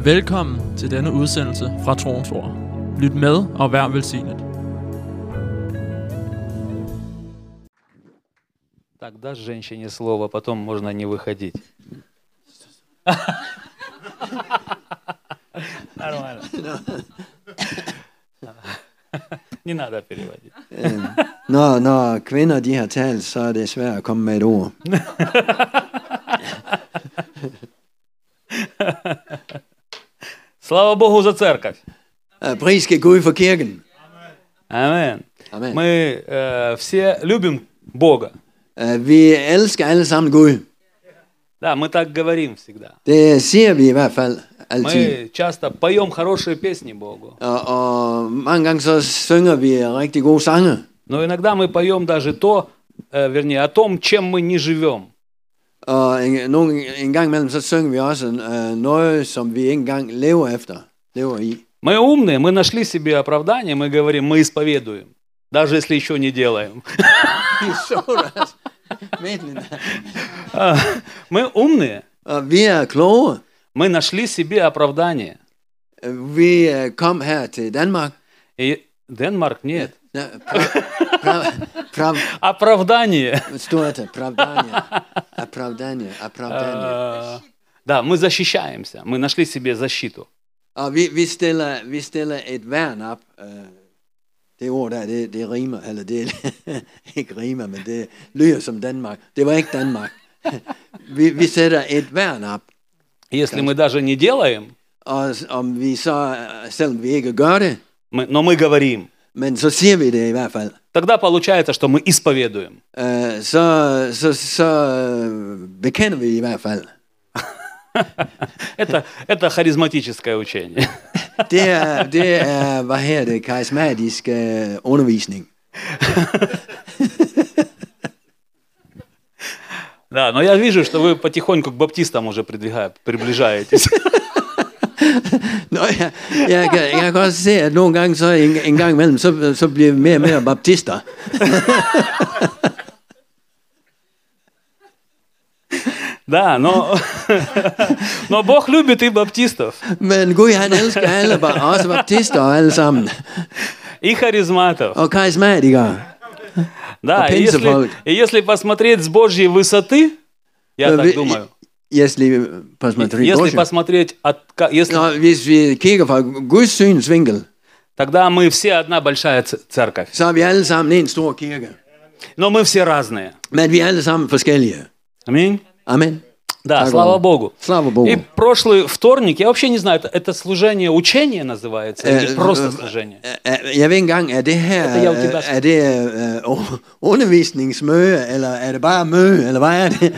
Velkommen til denne udsendelse fra Troens Ord. Lyt med og vær velsignet. Так, дашь женщине слово, потом можно не выходить. Нормально. Не надо переводить. Når kvinder de har talt, så er det svært at komme med et ord. Слава Богу за церковь. Pris skal Gud for kirken. Amen. Amen. Мы все любим Бога. Vi elsker alle sammen Gud. Да, мы так говорим всегда. Det siger vi i hvert fald altid. Мы часто поем хорошие песни Богу. Og mange gange så synger vi rigtig gode sange. Но иногда мы поем даже то, вернее, о том, чем мы не живем. Og en gang imellem så synger vi også noget, som vi ikke engang lever i. Мы умные, мы нашли себе оправдание, мы говорим, мы исповедуем, даже если еще не делаем. Мы умные. Vi er kloge. Мы нашли себе оправдание. Vi kom her til Danmark. И Денмарк нет. Оправдание. Оправдание. Оправдание. Да, мы защищаемся. Мы нашли себе защиту. Og vi stiller et værn op. Det ord der, det rimer, eller det ikke rimer, men det lyder som Danmark. Det var ikke Danmark. Vi sætter et værn op. Если мы даже не делаем, Og om vi så, selvom vi ikke gør det, но мы говорим, men så siger vi det i hvert fald. тогда получается, что мы исповедуем. Så bekender vi i hvert fald. Это харизматическое учение. Det er hvad her det karismatisk undervisning. Да, но я вижу, что вы потихоньку к баптистам уже приближаетесь. Nå, jeg kan også se, at nogle gange så en gang imellem, så bliver vi mere og mere baptister. Да, но Бог любит и баптистов. Men Gud, han elsker alle, også baptister og alle sammen. И харизматов. Og karismatikere. Да, и если посмотреть с Божьей высоты, я так думаю. Если посмотреть, hvis vi kigger fra Guds synsvinkel, тогда мы все одна большая церковь. Så er vi alle sammen en stor kirke. Но мы все разные. Men vi er alle sammen forskellige. Аминь. Amen. Да, слава Богу. Слава Богу. И прошлый вторник, я вообще не знаю, это служение учения называется, или просто служение? Jeg ved ikke engang, er det her, er det undervisningsmøde, eller er det bare møde, eller hvad er det?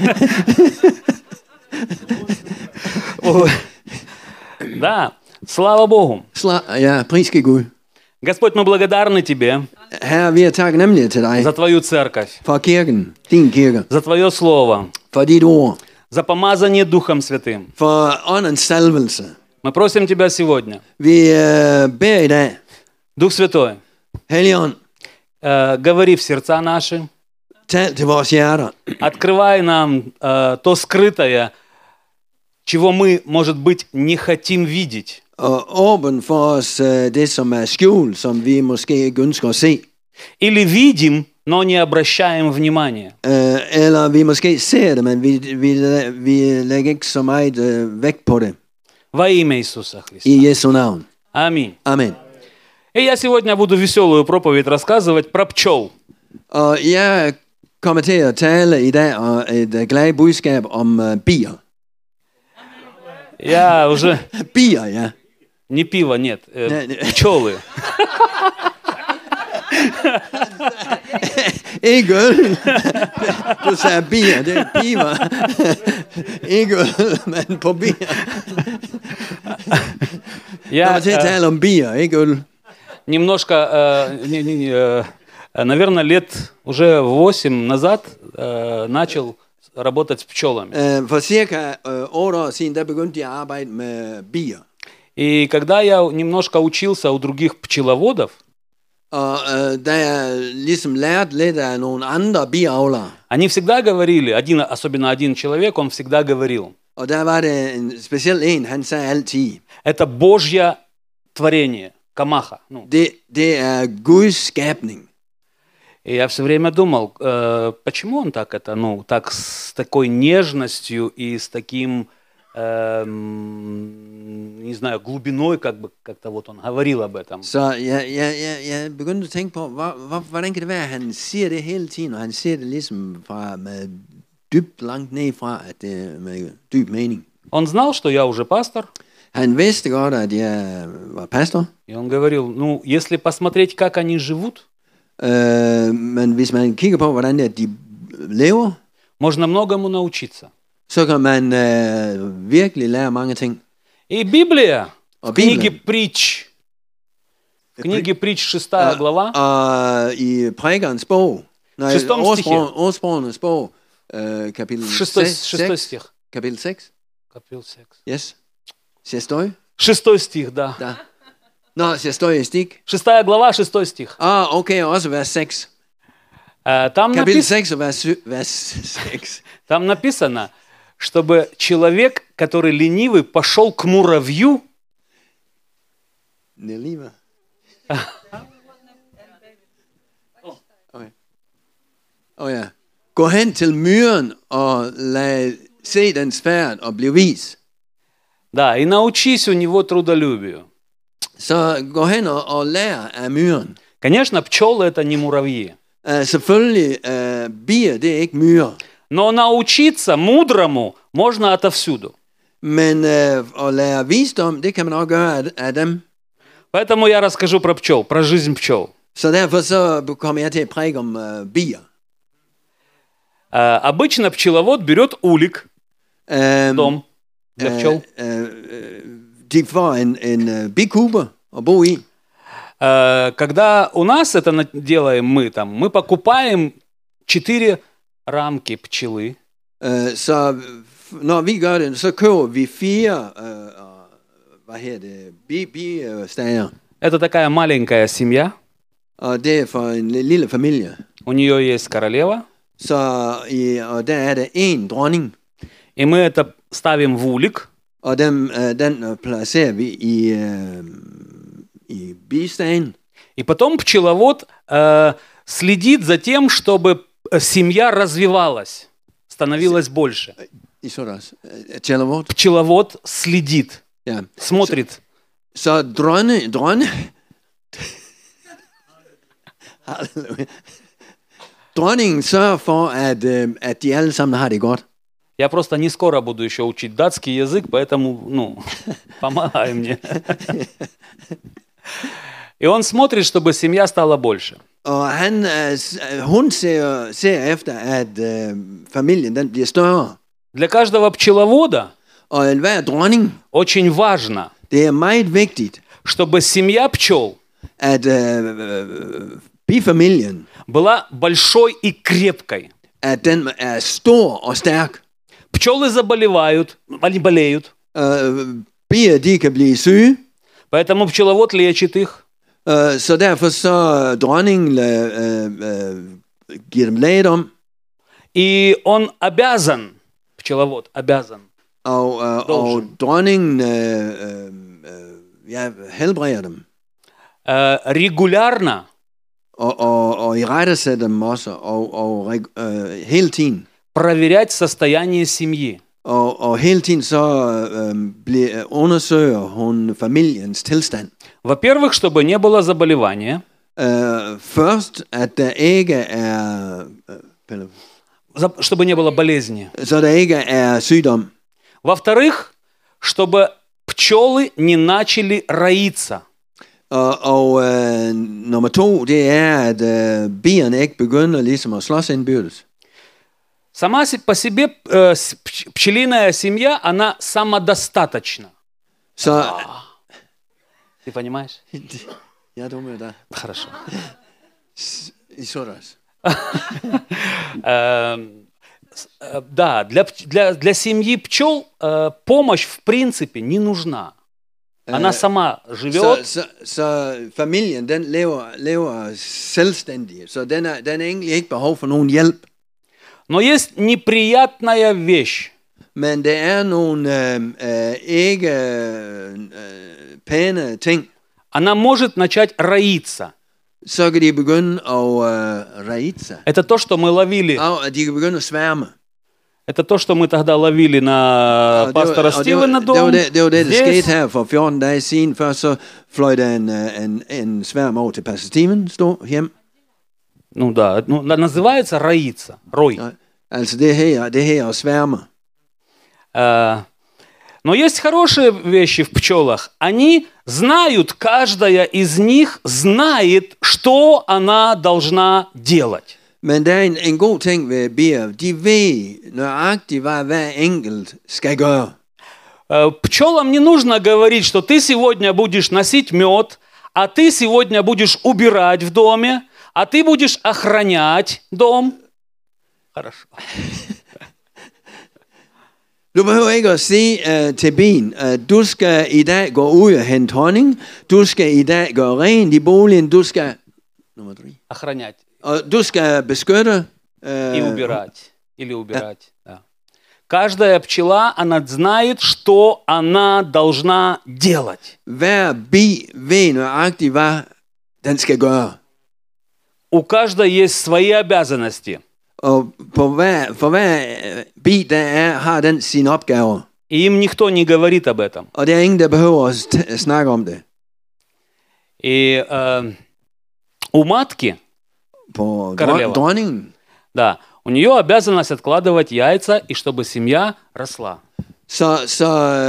Да, слава Богу. Ja, pris skal Gud. Господь, мы благодарны Тебе Herre, vi er taknemmelige til dig за Твою церковь, for kirken, din kirke, за Твое Слово, for dit ord, за помазание Духом Святым. for åndens salvelse. Мы просим Тебя сегодня, Vi beder i dag, Дух Святой, Helligånd, говори в сердца наши, tal til vores hjerter, открывай нам то скрытое, чего мы, может быть, не хотим видеть. og åbn for os det, som er skjult, som vi måske ikke ønsker at se. Или видим, но не обращаем внимания. Eller vi måske ser det, men vi lægger ikke så meget vægt på det. Во имя Иисуса Христа. I Jesu navn. Аминь. Amen. И я сегодня буду веселую проповедь рассказывать про пчел. Og jeg kommer til at tale i dag et glad budskab om bier. Я уже... Bier, ja. Не пиво, нет. Пчелы. Ikke øl. Du sagde bier, det er piver. Ikke øl, men på bier. Jeg kommer til at tale om bier, ikke øl. Немножко, наверное, лет уже 8 назад начал работать с пчелами. For cirka 8 år siden, der begyndte jeg at arbejde med bier. И когда я немножко учился у других пчеловодов, Og da jeg ligesom lærte lidt af nogle andre biavlere, они всегда говорили, особенно один человек, он всегда говорил, Og der var det en speciel en, han sagde altid, Это Божье творение, камаха. Ну, det er Guds skabning. и я все время думал, почему он так это, ну, так с такой нежностью и с таким, не знаю, глубиной, как бы, как-то вот он говорил об этом. Så jeg begyndte at tænke på, hvordan kan det være, at han siger det hele tiden, og han siger det ligesom fra med dybt langt ned fra, at det er med dyb mening. Он знал, что я уже пастор, Han vidste godt, at jeg var pastor, и он говорил, ну, если посмотреть, как они живут, men hvis man kigger på, hvordan det er, de lever, можно многому научиться. så kan man virkelig lære mange ting. И Библия, в А книге Библия? притч, в книге притч 6 глава, Og i prækerens bog, Шестом стихе. ordsprogenes bog, kapitel в 6 6, стих. kapitel 6, Копил секс. yes, шестой, 6 стих, да. da. Nå, шестой стих. 6 глава, 6 стих. Okay, også vers 6. Там Kapitel 6 og vers 6. Там написано, чтобы человек, который ленивый, пошел к муравью. Neliva. Okay. Ja. Gå hen til myren og lad se dens færd og bliv vis. Да, и научись у него трудолюбию. Så gå hen og lær af myren. Конечно, пчелы это не муравьи. Selvfølgelig, bier, det er ikke myrer. Но научиться мудрому можно отовсюду. Men at lære visdom, det kan man også gøre af dem. Поэтому я расскажу про пчел, про жизнь пчел. Så derfor så kommer jeg til at prædike om bier. Обычно пчеловод берет улик, дом для пчел. De får en bikube at bo i. Когда у нас это делаем мы покупаем 4 рамки пчелы. Så når vi gør det, så køber vi 4 bistager. Это такая маленькая семья. Og det er for en lille familie. У нее есть королева. Så og der er der en dronning. И мы это ставим в улик. Og den placerer vi i bistagen. И потом пчеловод следит за тем, чтобы семья развивалась, становилась больше. I sådan pчеловод. Пчеловод следит, Ja. смотрит. Så dronningen sørger for, at de alle sammen har det godt. Я просто не скоро буду еще учить датский язык, поэтому, помогай мне. И он смотрит, чтобы семья стала больше. Og hun ser efter, at familien den bliver større. Для каждого пчеловода Og enhver dronning, очень важно, det er meget vigtigt, чтобы семья пчел at bifamilien, была большой и крепкой. at den er stor og stærk. Пчелы заболевают, они болеют, Bier, de kan blive syge, поэтому пчеловод лечит их. så derfor så dronningen giver dem lægedom, И он обязан, пчеловод обязан, og dronningen helbreder dem. регулярно Og irettesætter dem også, og hele tiden. проверять состояние семьи. Og hele tiden så undersøger hun familiens tilstand. Во-первых, чтобы не было заболевания. Først, at der ikke er... Чтобы не было болезни. Så der ikke er sygdom. Во-вторых, чтобы пчелы не начали роиться. Og nummer 2, det er, at bierne ikke begynder ligesom at slås indbyrdes. Сама по себе пчелиная семья, она самодостаточна. Så... Ты понимаешь? Я думаю, да. Хорошо. I så det også. Да, для семьи пчел помощь в принципе не нужна. Она сама живет. Så familien, den lever selvstændig, så den er egentlig ikke behov for nogen hjælp. Но есть неприятная вещь. Men det er nogle ikke pæne ting, она может начать роиться. så kan de begynde at rejse sig. Это то, что мы ловили. Og de kan begynde at sværme. Это то, что мы тогда ловили на пастора Стивена det дом. var det, der Здесь. skete her for 14 dage siden. Først så fløj der en sværm over til pastor Steven, stod hjem. Ну да, называется роиться, рой. Altså det her at sværme. Но есть хорошие вещи в пчелах. Они знают, каждая из них знает, что она должна делать. Men der er en god ting ved bier. De ved nøjagtigt, hvad hver enkelt skal gøre. Пчелам не нужно говорить, что ты сегодня будешь носить мед, а ты сегодня будешь убирать в доме, а ты будешь охранять дом. Хорошо. Du behøver ikke at sige til bien, du skal i dag gå ud og hente honning, du skal i dag gøre rent i boligen, du skal... Nummer 3. Охранять. Og du skal beskytte... И убирать. Или убирать. Да. Каждая пчела, она знает, что она должна делать. Hver bi ved nøjagtigt, hvad den skal gøre. У каждой есть свои обязанности. Og for hver bi, der har den sine opgaver. И им никто не говорит об этом. Og der er ingen, der behøver at snakke om det. И у матки, På Королева. dronningen, да, у нее обязанность откладывать яйца, и чтобы семья росла. så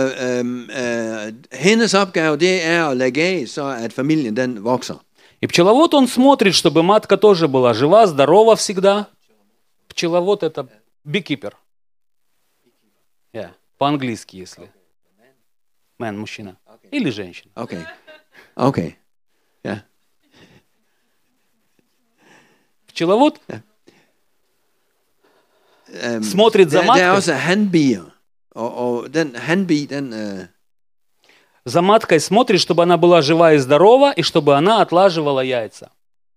hendes opgave, det er at lægge af, så at familien den vokser. И пчеловод, он смотрит, чтобы матка тоже была жива, здорова всегда. Пчеловод – это beekeeper. Yeah. По-английски, если. Man, мужчина. Или женщина. Okay. Ja. Пчеловод смотрит за Der er маткой. også hanbier. Og den hanbi, den... За маткой смотрит, чтобы она была жива и здорова, и чтобы она отлаживала яйца.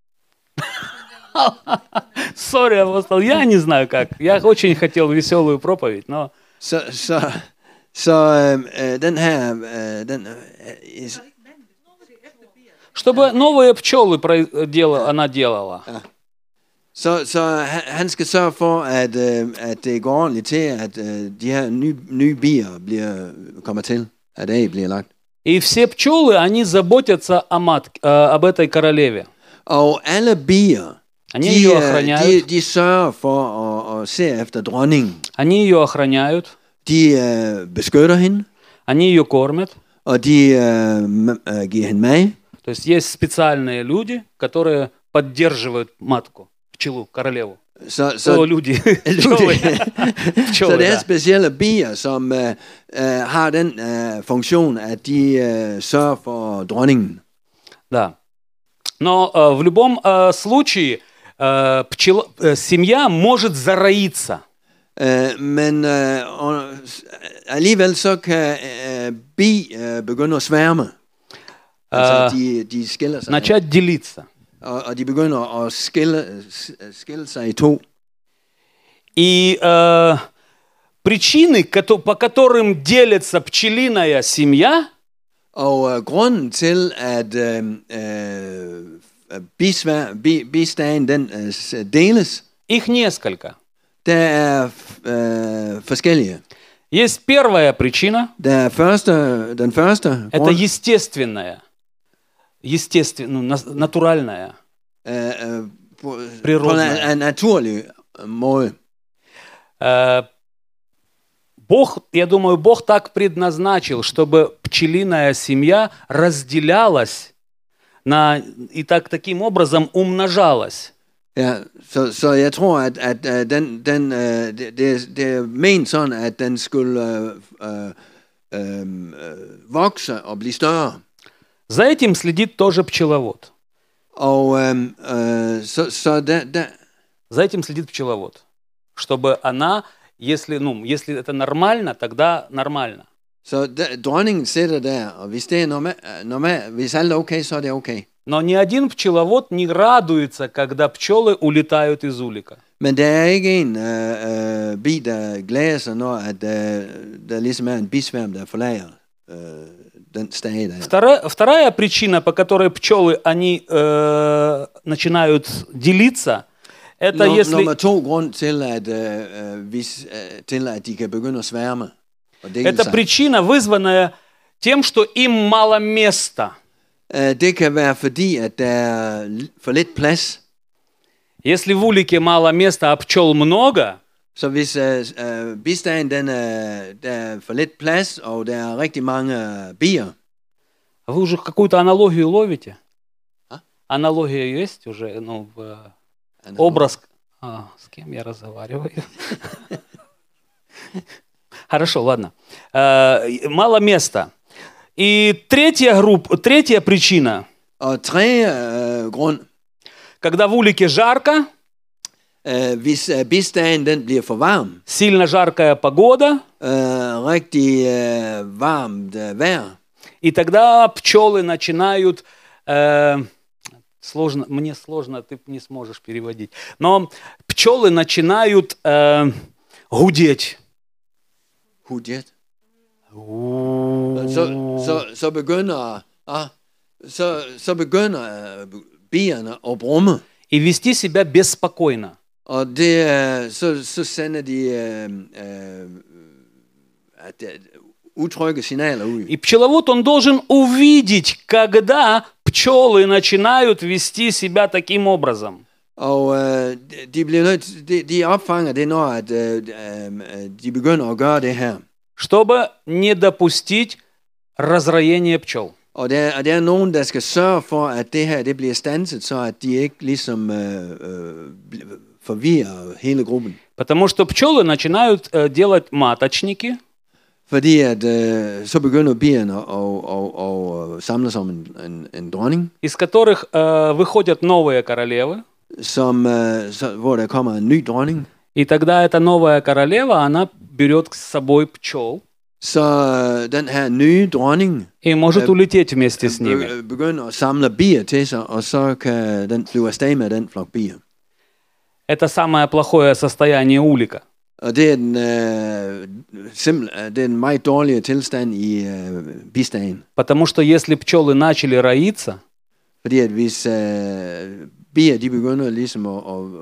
Сори, апостол, я не знаю как. Я очень хотел веселую проповедь, но... den her... Чтобы новые пчелы она делала. Så han skal sørge for, at det går ordentligt til, at de her nye bier kommer til, at æg bliver lagt. И все пчелы, они заботятся об этой королеве. Og alle bier, Они ее охраняют. de sørger for at se efter dronningen. Они ее охраняют. De beskytter hende. Они ее кормят. Og de giver hende mad. То есть есть специальные люди, которые поддерживают матку, пчелу, королеву. Så люди. Så det er specielle bier, som har den funktion, at de sørger for dronningen. Да. Но в любом случае семья может зароиться. Men alligevel så kan bi begynde at sværme. Altså de skiller sig. Начать делиться. Og de begynder at skille sig i to. И причины, по которым делится пчелиная семья, og grunden til, at bistagen den deles, их несколько. der er forskellige. Есть первая причина. Den første это grund, естественная, натуральная, på en naturlig måde. Я думаю, Бог так предназначил, чтобы пчелиная семья разделялась и таким образом умножалась. Ja, så jeg tror, at det er ment sådan, at den skulle vokse og blive større. За этим следит тоже пчеловод. Og За этим следит пчеловод. Чтобы она, если это нормально, тогда нормально. Så dronningen sidder der, og hvis det er normalt, hvis alt er okay, så er det okay. Но ни один пчеловод не радуется, когда пчелы улетают из улика. Men der er ikke en bi, der glæder sig, når at, der ligesom er en bisværm, der forlager den stage der. Вторая причина, по которой пчелы они начинают делиться, это если... Nummer 2 grund til, at de kan begynde at sværme og dele Это sig. причина, вызванная тем, что им мало места. Det kan være fordi, at der er for lidt plads. Если в улике мало места, а пчел много, Så hvis bistagen der er for lidt plads, og der er rigtig mange bier. вы уже какую-то аналогию ловите? А? Аналогия есть уже? Ну, образ... с кем я разговариваю? Хорошо, ладно. Мало места. И третья причина. Og tredje grund, Когда в улике жарко, hvis bistagen den bliver for varm, сильно жаркая погода, rigtig varmt vejr, и тогда пчелы начинают... мне сложно, ты не сможешь переводить. Но пчелы начинают гудеть. Hudjet. Så begynder bierne at brumme. И вести себя беспокойно. Og det, så sender de утрygge signaler ud. И пчеловод, он должен увидеть, когда пчелы начинают вести себя таким образом. Og de opfanger det, når at, de begynder at gøre det her. Чтобы не допустить разроения пчел. Og der er nogen, der skal sørge for, at det her det bliver standset, så at de ikke ligesom forvirrer hele gruppen. Потому что пчелы начинают делать маточники. Fordi at så begynder bierne at samle som en dronning. Из которых выходят новые королевы. Hvor der kommer en ny dronning. И тогда эта новая королева, она берет с собой пчел. Så den her nye dronning и может улететь вместе с ними. Begynder at samle bier til sig, og så kan den flyve afsted med den flok bier. Это самое плохое состояние улика. Og det er en meget dårlig tilstand i bistagen. Потому что если пчелы начали роиться, fordi at hvis bier de begynder ligesom at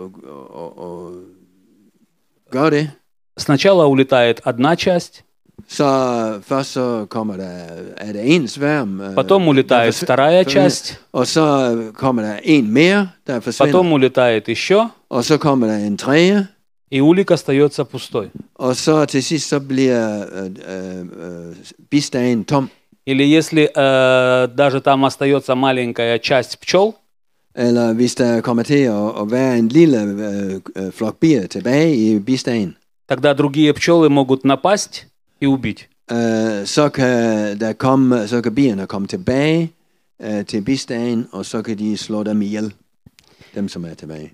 gøre det, сначала улетает одна часть, så først så kommer der en sværm, потом улетает вторая часть, og så kommer der en mere, der forsvinder, потом улетает еще, og så kommer der en tredje, и улик остается пустой. Og så til sidst så bliver bistagen tom. Или если даже там остается маленькая часть пчел, eller hvis der kommer til at være en lille flok bier tilbage i bistagen, тогда другие пчелы могут напасть и убить. Så kan bierne komme tilbage til bistagen, og så kan de slå dem ihjel, dem som er tilbage.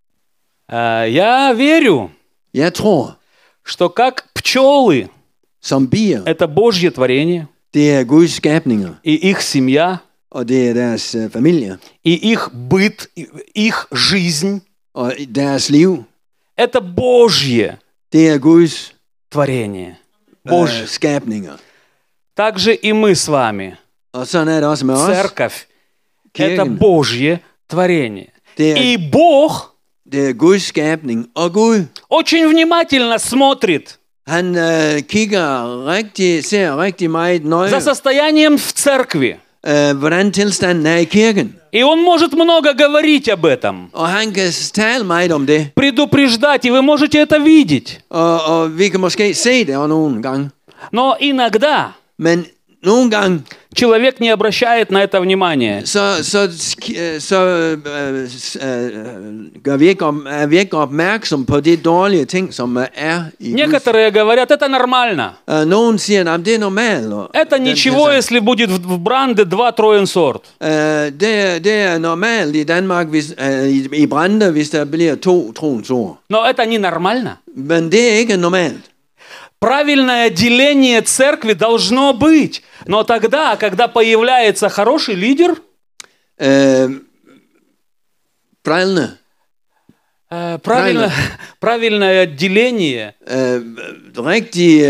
Я верю, jeg tror, что как пчелы, som bier, это Божье творение, det er Guds skabninger, и их семья, og det er deres familier, и их быт, их жизнь, og deres liv, это Божье, det er Guds творение, Божье skabninger. Также и мы с вами. Og sådan er det også med os. Церковь – это Божье творение. И er, Бог det er Guds skabning, og Gud очень внимательно смотрит han ser rigtig meget nøje за состоянием в церкви. Hvordan tilstanden er i kirken. И он может много говорить об этом. Og han kan tale meget om det. Предупреждать, и вы можете это видеть. Og vi kan måske se det nogle gange. Но иногда Men nogle gange человек не обращает на это внимания. Er vi ikke opmærksom på de dårlige ting, som er i Некоторые говорят, это нормально. Nogen siger, at det er normalt. Это ничего, если будет в Бранде 2 сорт. Det er normalt i Danmark, i Brande, hvis der bliver 2 tronsord. Но это не нормально. Men det er ikke normalt. Правильное деление церкви должно быть. Но тогда, когда появляется хороший лидер, Brillene. Правильное деление Rigtig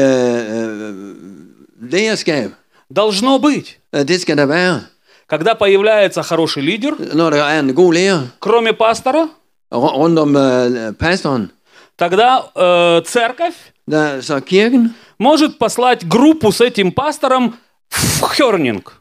lederskab. должно быть. Det skal der være. Когда появляется хороший лидер, Når der er en god leder кроме пастора, rundt om pastoren, тогда церковь så kirken, может послать группу с этим пастором в Хернинг.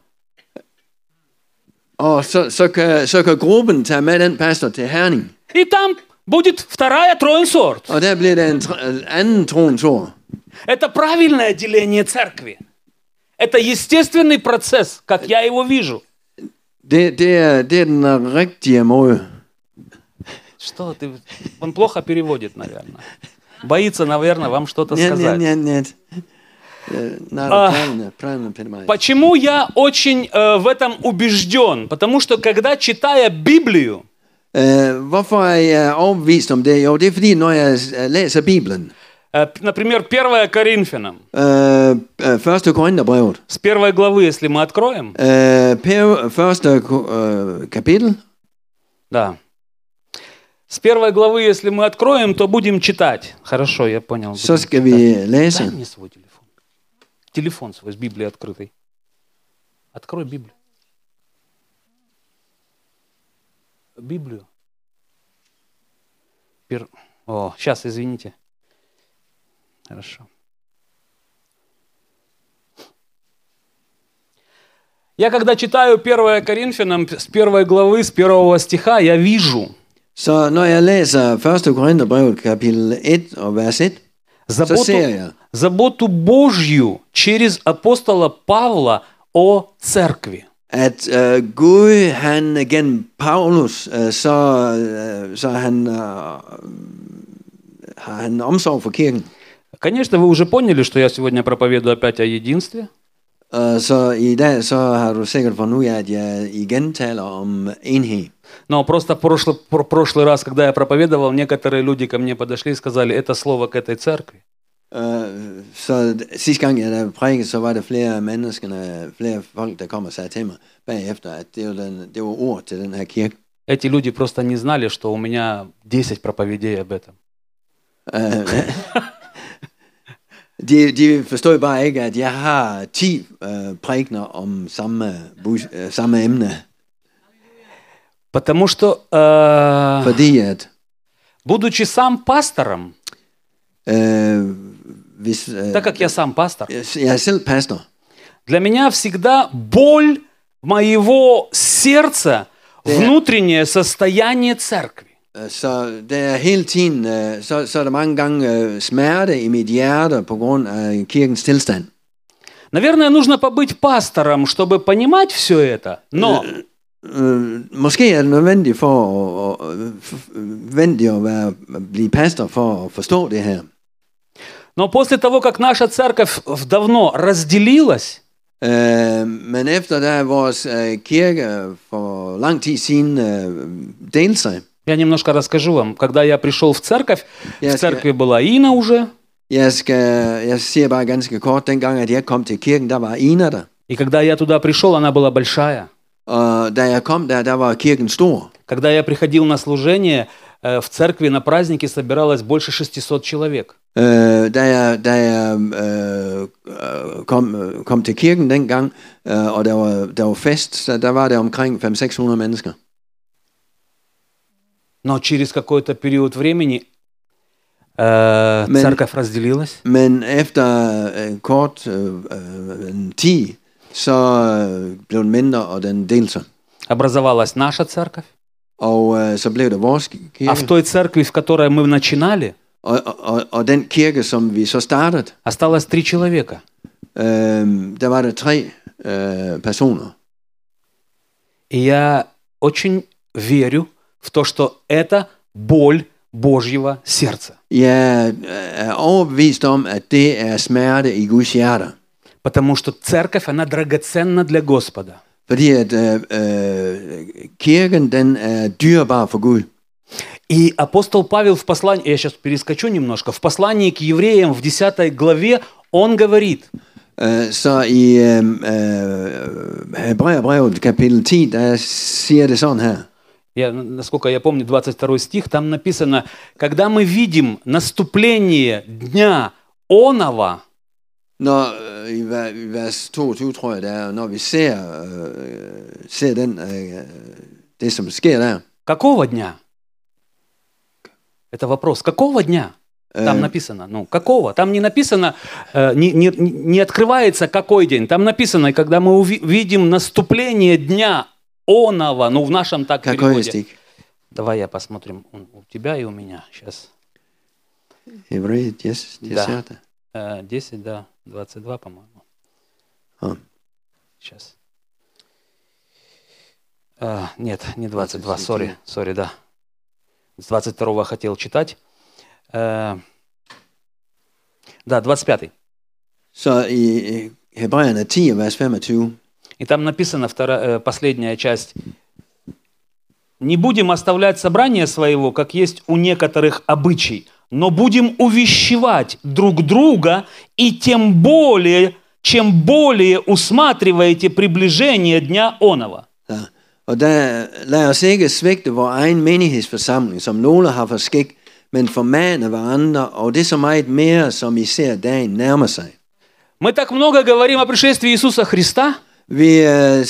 og så kan gruppen tage med den pastor til Herning. И там будет вторая троенсорт. Og der bliver der en anden tronsord. Это правильное деление церкви. Это естественный процесс, как я его вижу. Det er den rigtige måde. Что ты? Он плохо переводит, наверное. Боится, наверное, вам что-то сказать. Нет. Правильно, понимаешь. Почему я очень в этом убежден? Потому что, когда читая Библию, Hvorfor er jeg overbevist om det? Jo, det er fordi, når jeg læser Bibelen, например, 1 Коринфянам, 1. Korintherbrevet, с первой главы, если мы откроем, første kapitel, да, с первой главы, если мы откроем, то будем читать. Хорошо, я понял. så skal vi Дай læse. мне свой телефон. Телефон свой с Библией открытый. Открой Библию. Библию. О, сейчас, извините. Хорошо. Я когда читаю 1 Коринфянам с 1 главы, с 1 стиха, я вижу, Så når jeg læser 1. Korintherbrevet, kapitel 1 og vers 1, så ser jeg, заботу Божью через апостола Павла о церкви. at Gud, han gennem Paulus, så har han omsorg for kirken. Конечно, вы уже поняли, что я сегодня проповедую опять о единстве. Så i dag så har du sikkert fundet ud af, at jeg igen taler om enhed. Но просто прошлый раз, когда я проповедовал, некоторые люди ко мне подошли и сказали, это слово к этой церкви. Så sidste gang jeg prædikede, så var der flere folk, der kom og sagde til mig bagefter, at det var ord til den her kirke. Эти люди просто не знали, что у меня 10 проповедей об этом. De forstår bare ikke, at jeg har 10 prædikener om samme emne. Потому что, Fordi at будучи сам пастором, так как я сам пастор, jeg er selv pastor, для меня всегда боль моего сердца, внутреннее состояние церкви. så der er hele tiden, så er der mange gange smerte i mit hjerte på grund af kirkens tilstand. Наверное, нужно побыть пастором, чтобы понимать все это, но Måske er det nødvendigt at blive pastor for at forstå det her. Но после того, как наша церковь давно разделилась, Men efter da vores kirke for lang tid siden delte sig. я немножко расскажу вам. Когда я пришел в церковь была Ина уже. Jeg siger bare ganske kort, dengang at jeg kom til kirken, der var Ina der. И когда я туда пришел, она была большая. Og da jeg kom der var kirken stor. Когда я приходил на служение, в церкви на празднике собиралось больше 600 человек. Da jeg kom til kirken dengang, og der var fest, så der var det omkring 500-600 mennesker. Но через какой-то период времени церковь разделилась. Men efter kort tid, så blev den mindre, og den delte sig. Образовалась наша церковь. Og så blev det vores kirke. А в той церкви, в которой мы начинали, og den kirke, som vi så startede, осталось 3 человека. Der var der 3 personer. И я очень верю в то, что это боль Божьего сердца. Jeg er overbevist om, at det er smerte i Guds hjerte. Потому что церковь, она драгоценна для Господа. Fordi at kirken, den er dyrebar for Gud. И апостол Павел в послании, я сейчас перескочу немножко, в послании к евреям в 10 главе он говорит. Så i Hebræerbrevet kapitel 10, der siger det sådan her. Насколько я помню, 22 стих, там написано, когда мы видим наступление дня онова, Når i vers 22, tror jeg det er, når vi ser det, som sker der. какого дня? Это вопрос. Какого дня? Там написано. Ну, какого? Там не написано, не открывается какой день. Там написано, когда мы увидим наступление дня онова, ну, в нашем так переводе. Давай я посмотрим у тебя и у меня. Сейчас. Евреи 10. Да. 10, да. 22, по-моему. Сейчас. Нет, не 22, сори, да. С 22 хотел читать. Да, 25. Så i Hebræerne 10, vers 25. И там написано последняя часть. «Не будем оставлять собрание своего, как есть у некоторых обычай, но будем увещевать друг друга, и тем более, чем более усматриваете приближение дня онова». Ja. Og lad os ikke svigte vor egen menighedsforsamling, som nogle har for skik, men formane hverandre, og det så meget mere, som I ser dagen nærmer sig. Мы так много говорим о пришествии Иисуса Христа. Vi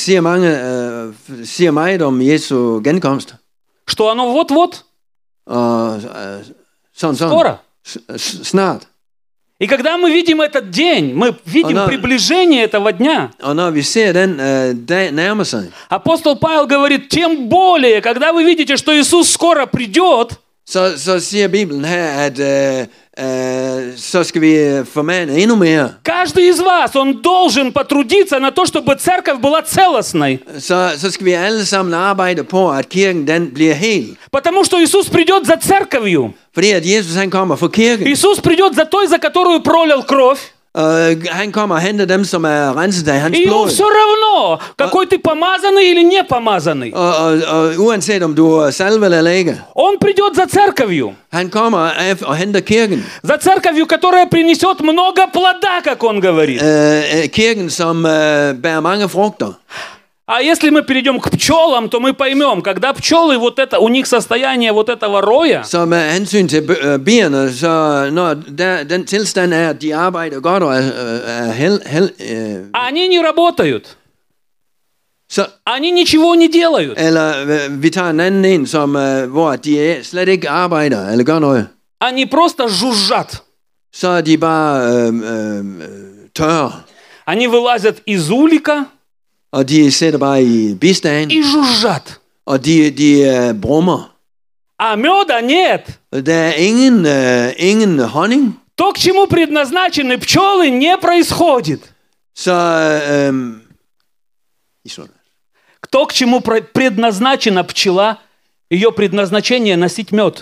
siger meget om Jesu genkomst. Что оно вот-вот. Og sådan. Скоро. Snart. И когда мы видим этот день, мы видим приближение этого дня. Og når vi ser den dag nærmer sig. Апостол Павел говорит, тем более, когда вы видите, что Иисус скоро придет. Så siger Bibelen her, at så skal vi formane endnu mere. Каждый из вас, он должен потрудиться на то, чтобы церковь была целостной. Så skal vi alle sammen arbejde på, at kirken den bliver hel. Потому что Иисус придет за церковью. Fordi at Jesus han kommer for kirken. Иисус придет за той, за которую пролил кровь. Han kommer og henter dem, som er renset af hans blod. И ему blod. все равно, какой ты помазанный или не помазанный. Og uanset om du er salvet eller ikke. Он придет за церковью. Han kommer og henter kirken. За церковью, которая принесет много плода, как он говорит. Kirken, som bærer mange frugter. А если мы перейдем к пчелам, то мы поймем, когда пчелы, вот это, у них состояние вот этого роя. Så med hensyn til bierne, så når den tilstand er, at de arbejder godt og Они не работают. Så, они ничего не делают. Eller vi tager en anden en, som, hvor de slet ikke arbejder eller gør noget. Они просто жужжат. Så er de bare tørre. Они вылазят из улика. Og de sætter bare i bistagen. И жужжат. Og de brummer. А меда нет. Der er ingen honning. То, к чему предназначены пчелы, не происходит. Så то, к чему предназначена пчела, ее предназначение носить мед.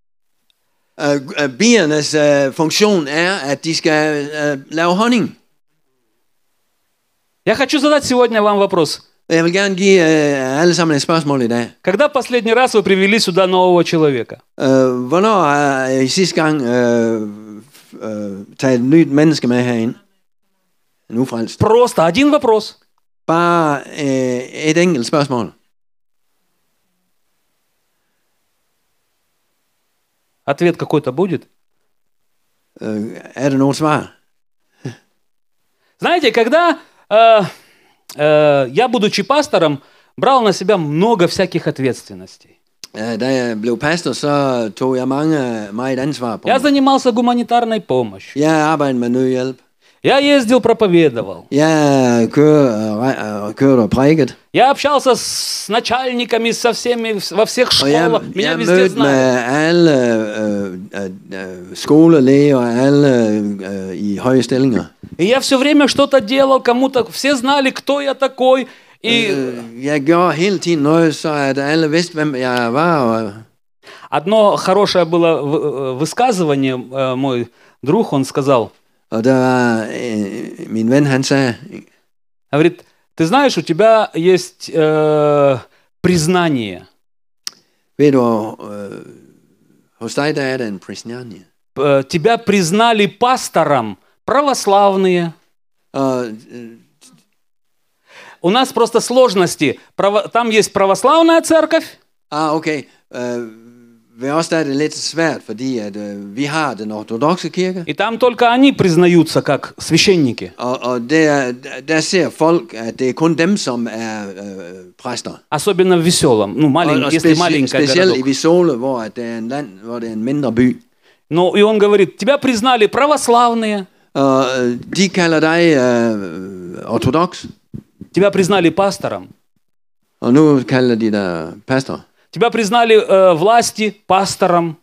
Biernes funktion er, at de skal lave honning. Я хочу задать сегодня вам вопрос. Jeg vil gerne give alle sammen et spørgsmål i dag. Когда последний раз вы привели сюда нового человека? Hvornår har I sidste gang taget et nyt menneske med herind? En ufrelst. Просто один вопрос. Bare et enkelt spørgsmål. Ответ какой-то будет? Er der noget svar? Знаете, когда я, будучи пастором, брал на себя много всяких ответственностей. Da jeg blev pastor, så tog jeg meget ansvar på. Я занимался гуманитарной помощью. Jeg arbejdede med nødhjælp. Я ездил, проповедовал. Jeg kørte og prædiket. Я общался с начальниками, со всеми, во всех школах. Меня везде знали. Jeg mødte med alle skolelæger og alle i høje stillinger. И я все время что-то делал, кому-то, все знали, кто я такой. Jeg gjorde hele tiden noget, så at alle vidste, hvem jeg var. Одно хорошее было высказывание, мой друг, он сказал. Og der var min ven, han sagde. Говорит, ты знаешь, у тебя есть признание. Ved du, hos dig der er der en признание. Тебя признали пастором православные. У нас просто сложности. Там есть православная церковь, Okay. Ved os der er det lidt svært, fordi at vi har den ortodokse kirke, и там только они признаются как священники. og der ser folk, at det er kun dem, som er præster. Особенно в Веселом. Ну, Og если маленький specielt i городок. Visole, hvor at det er en land, hvor det er en mindre by. Ну, и он говорит, тебя признали православные, Og de kalder dig ortodoks, тебя признали пастором, og nu kalder de dig pastor. тебя признали власти пастором.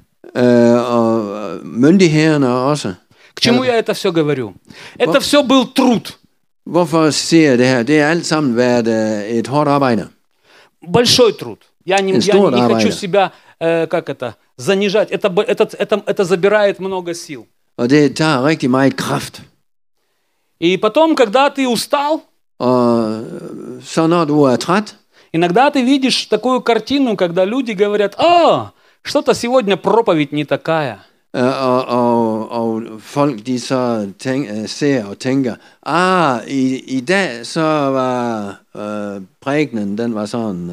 Og myndighederne også. К чему я это все говорю? Это все был труд. Hvorfor siger jeg det her? Det er alt sammen været et hårdt arbejde. Большой труд. Я не хочу себя, занижать. Это забирает много сил. Og det tager rigtig meget kraft. И потом, когда ты устал, Og så når du er træt, иногда ты видишь такую картину, когда люди говорят, что-то сегодня проповедь не такая. og folk de så ser og tænker, i dag så var prædikenen, den var sådan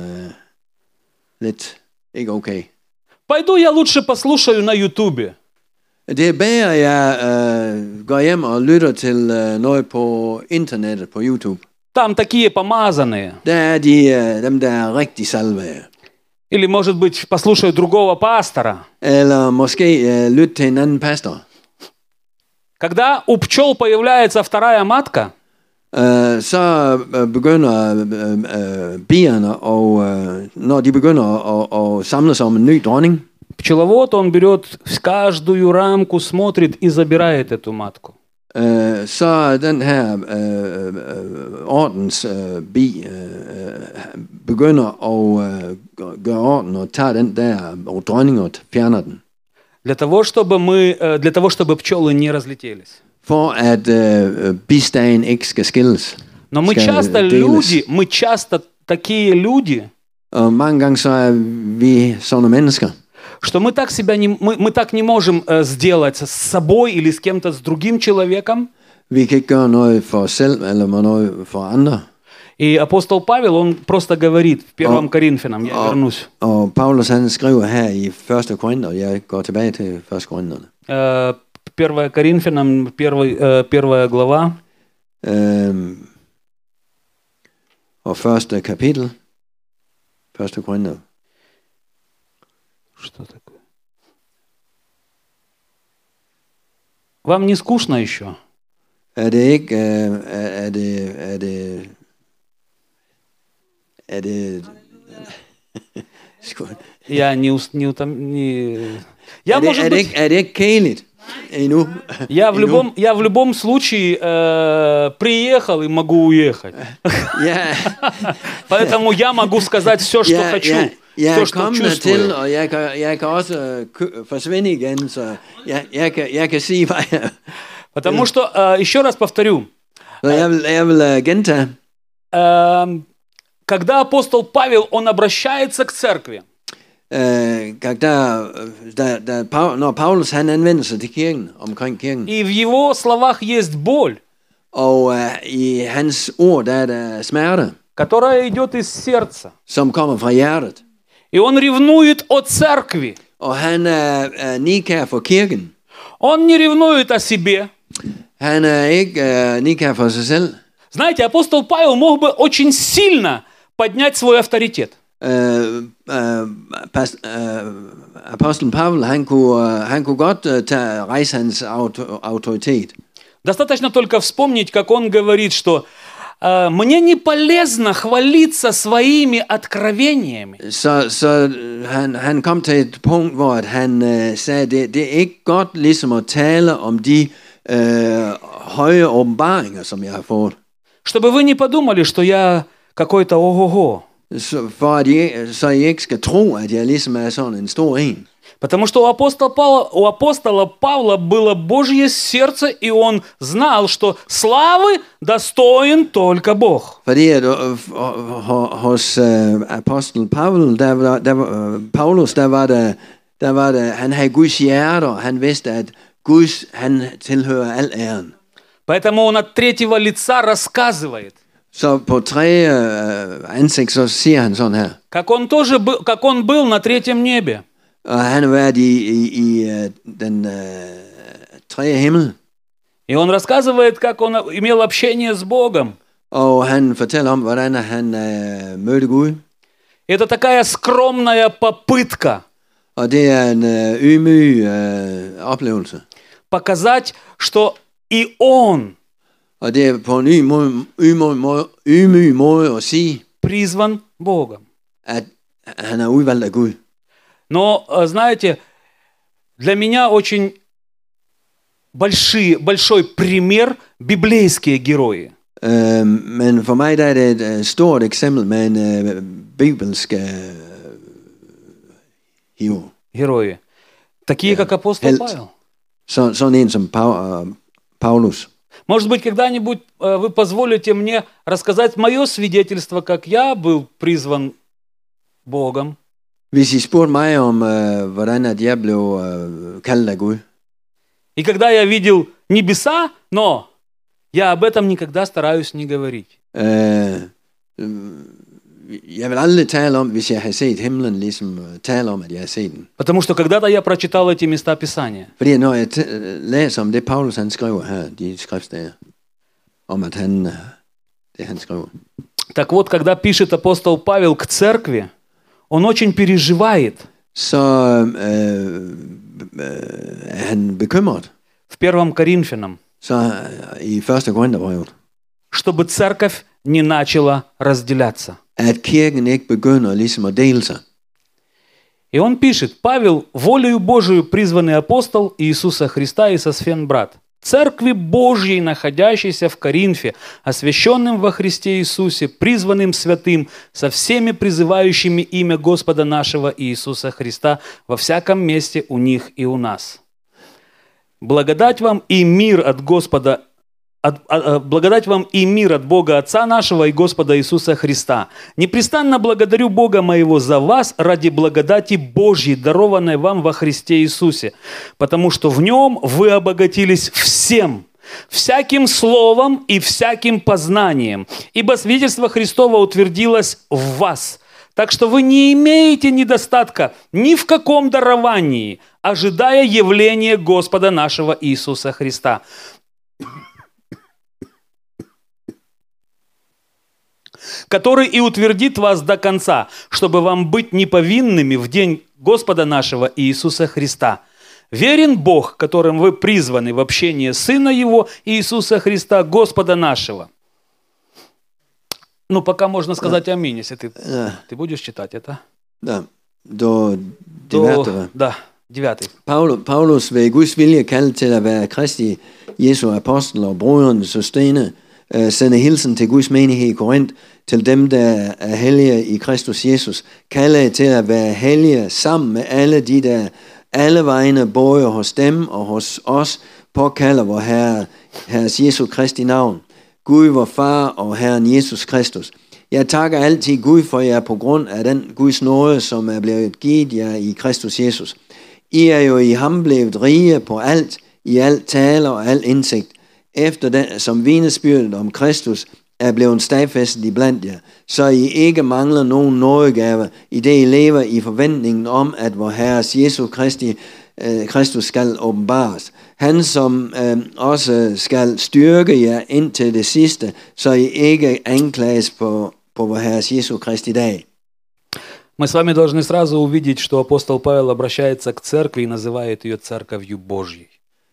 lidt ikke okay. Пойду я лучше послушаю на Ютубе. Det er bedre, jeg går hjem og lytter til noget på internettet, på YouTube. Там такие помазанные. Der er dem, der er rigtig salvede. Или, может быть, послушаю другого пастора. Eller måske lytte til en anden pastor. Когда у пчел появляется вторая матка, så begynder bierne, og når de begynder at samle sig om en ny dronning, пчеловод, он берет каждую рамку, смотрит и забирает эту матку. så den her ordens bi begynder at gøre orden og tager den der og dronning og fjerner den. Для того, чтобы пчелы не разлетелись. For at bistagen ikke skal skilles. Но мы часто такие люди, og mange gange så er vi sådan mennesker, что мы так не можем сделать с собой или с кем-то, с другим человеком. Vi kan ikke gøre noget for os selv eller noget for andre. И апостол Павел, он просто говорит в 1 Коринфянам, я вернусь. Og Paulus han skriver her i 1. Korinther, jeg går tilbage til 1. Korinterne. 1 Коринфянам, 1 глава. Og første kapitel. 1. Korinther. Что такое? Вам не скучно еще? Er det ikke, Я не Я, может быть... Er det ikke kedeligt endnu? Я в любом случае приехал и могу уехать. Поэтому я могу сказать все, что хочу. Jeg er kommet hertil, og jeg kan også forsvinde igen, så jeg kan sige, hvad jeg... Потому что, еще раз повторю, jeg vil gentage, когда апостол Павел, он обращается к церкви, når Paulus han anvender sig til kirken, omkring kirken, и в его словах есть боль, og i hans ord der er der smerte, которая идет из сердца, som kommer fra hjertet, и он ревнует о церкви. Og han er nikær for kirken. Он не ревнует о себе. Han er ikke nikær for sig selv. Знаете, апостол Павел мог бы очень сильно поднять свой авторитет. Apostlen Pavel, han kunne godt rejse hans autoritet. Достаточно только вспомнить, как он говорит, что мне не полезно хвалиться своими откровениями. Så han kom til et punkt, hvor han sagde, det er ikke godt ligesom at tale om de høje åbenbaringer, som jeg har fået. Чтобы вы не подумали, что я какой-то ого-го. For at I ikke skal tro, at jeg ligesom er sådan en stor en. Потому что у апостола Павла было Божье сердце, и он знал, что славы достоин только Бог. Fordi at hos apostel Paulus, der var der, han havde Guds hjerte, og han vidste, at han tilhører al æren. Поэтому он от третьего лица рассказывает, Så på tredje ansigt, så siger han sådan her. как он был на третьем небе. Og han har været i den tredje himmel. И он рассказывает, как он имел общение с Богом. Og han fortæller om, hvordan han mødte Gud. Это такая скромная попытка Og det er en ydmyg oplevelse. показать, что и он Og det er på en ydmyg måde at sige, призван Богом. at han er udvalgt af Gud. Но, знаете, для меня очень большой пример библейские герои. Men for mig der er det et stort eksempel med en bibelsk hero. Герои. Такие, как апостол Helt. Павел. Sådan en som Paulus. Может быть, когда-нибудь вы позволите мне рассказать мое свидетельство, как я был призван Богом. Hvis I spurgte mig om, hvordan at jeg blev kaldt af Gud, И когда я видел небеса, но я об этом никогда стараюсь не говорить. jeg vil aldrig tale om, hvis jeg har set himlen, ligesom tale om, at jeg har set den. Потому что когда-то я прочитал эти места Писания. Fordi når jeg læser om det, Paulus han skriver her, de skriftsteder, om at det han skriver. Так вот, когда пишет апостол Павел к церкви, он очень переживает. Så er han bekymret. В 1 Коринфянам. Så i 1. Korintherbrevet, Чтобы церковь не начала разделяться. at kirken ikke begynder ligesom at dele sig. И он пишет: Павел, волею Божию призванный апостол Иисуса Христа и Сосфен брат, Церкви Божьей, находящейся в Коринфе, освященным во Христе Иисусе, призванным святым, со всеми призывающими имя Господа нашего Иисуса Христа во всяком месте у них и у нас. Благодать вам и мир от Господа, благодать вам и мир от Бога Отца нашего и Господа Иисуса Христа. Непрестанно благодарю Бога моего за вас ради благодати Божьей, дарованной вам во Христе Иисусе, потому что в Нем вы обогатились всем, всяким словом и всяким познанием, ибо свидетельство Христово утвердилось в вас. Так что вы не имеете недостатка ни в каком даровании, ожидая явления Господа нашего Иисуса Христа, который и утвердит вас до конца, чтобы вам быть неповинными в день Господа нашего Иисуса Христа. Верен Бог, которым вы призваны в общение Сына Его, Иисуса Христа, Господа нашего. Ну, пока можно сказать аминь, если ты будешь читать это. Да, до 9. Да, 9. Paulus ved Guds vilje kaldt til at være Kristi Jesu apostel og broderen Sostene, sender hilsen til Guds menighed i Korinth, til dem, der er hellige i Kristus Jesus, kalder til at være hellige sammen med alle de, der alle vegne, både hos dem og hos os, påkalder vor Herres Jesu Kristi navn. Gud, vor Far og Herren Jesus Kristus. Jeg takker altid Gud for jer på grund af den Guds nåde, som er blevet givet jer i Kristus Jesus. I er jo i ham blevet rige på alt, i alt tale og al indsigt, efter den, som vidnesbyrdet om Kristus er blevet stadfæstet iblandt jer, så I ikke mangler nogen nådegave, i det I lever i forventningen om, at vor Herres Jesu Kristus skal åbenbares. Han som også skal styrke jer indtil det sidste, så I ikke anklages på vor Herres Jesu Kristi dag. Мы с вами должны сразу увидеть, что апостол Павел обращается к церкви и называет ее церковью Божьей.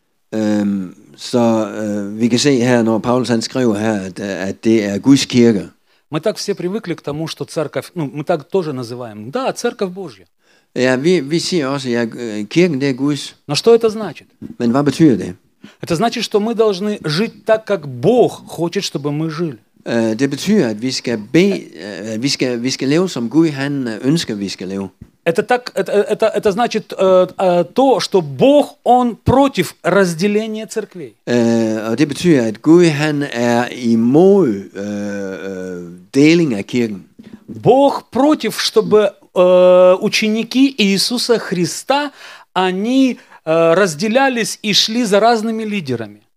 Så vi kan se her, når Paulus han skriver her, at det er Guds kirke. Мы так все привыкли к тому, что церковь, мы так тоже называем. Да, церковь Божья. Ja, vi siger også, at kirken det er Guds. Но что это значит? Men hvad betyder det? Это значит, что мы должны жить так, как Бог хочет, чтобы мы жили. Det betyder, at vi skal vi skal leve som Gud han ønsker, vi skal leve. Это значит то, что Бог, Он против разделения церквей. Og det betyder, at Gud han er imod deling af kirken. Бог против, чтобы ученики Иисуса Христа, они разделялись и шли за разными лидерами.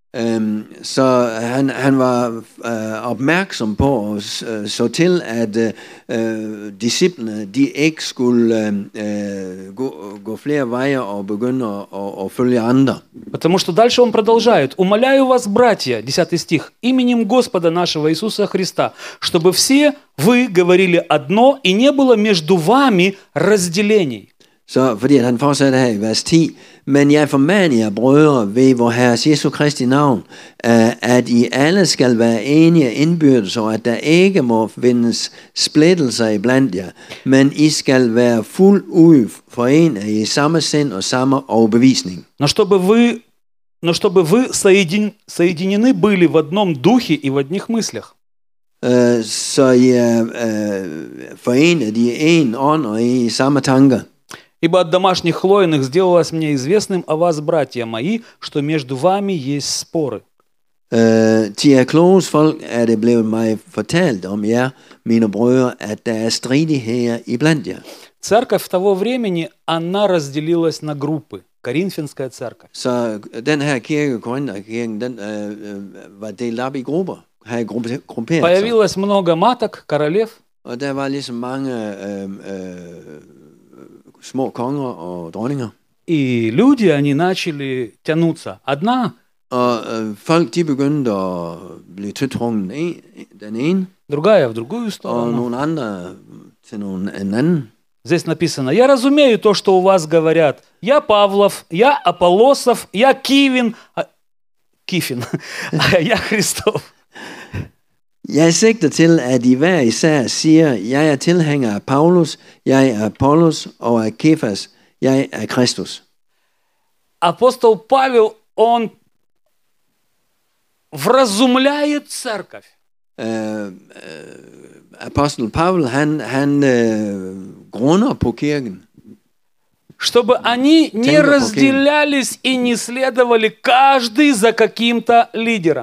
Så han var opmærksom på at så til, at disciplene de ikke skulle gå flere veje og begynde at følge andre. Потому что дальше он продолжает. «Умоляю вас, братья», 10 стих, «именем Господа нашего Иисуса Христа, чтобы все вы говорили одно, и не было между вами разделений». Så fordi han fortsætter her i vers 10, men jeg formaner jer, brødre, ved vor Herres Jesu Kristi navn, at I alle skal være enige indbyrdes, og at der ikke må findes splittelser iblandt jer, men I skal være fuldt ud forenet i samme sind og samme overbevisning. Но чтобы вы соединены были в одном духе и в одних мыслях. Så I er forenet i en ånd og i samme tanker. Ибо от домашних хлоиных сделалось мне известным о вас, братья мои, что между вами есть споры. Til jer kloges folk er det blevet mig fortalt om jer, mine brødre, at der er stridigheder iblandt jer. Церковь того времени, она разделилась на группы. Коринфянская церковь. Så den her kirke, Korinterkirken, den var delt op i grupper, havde grupperet sig. Появилось много маток, королев. Og der var ligesom mange små konger og dronninger. И люди, они начали тянуться. Одна, Og folk, de begyndte at blive tiltrukket den ene, другая в другую og сторону. nogle andre til en anden. Здесь написано: «Я разумею то, что у вас говорят. Я Павлов, я Аполлосов, я Кифин, а я Христов». Jeg sigter til, at I hver især siger, jeg er tilhænger af Paulus, jeg er Apollos og af Kefas, jeg er Kristus. Апостол Павел, он вразумляет церковь. Apostel Pavel, han grunder på kirken, Чтобы они не Тенго разделялись и не следовали каждый за каким-то лидером.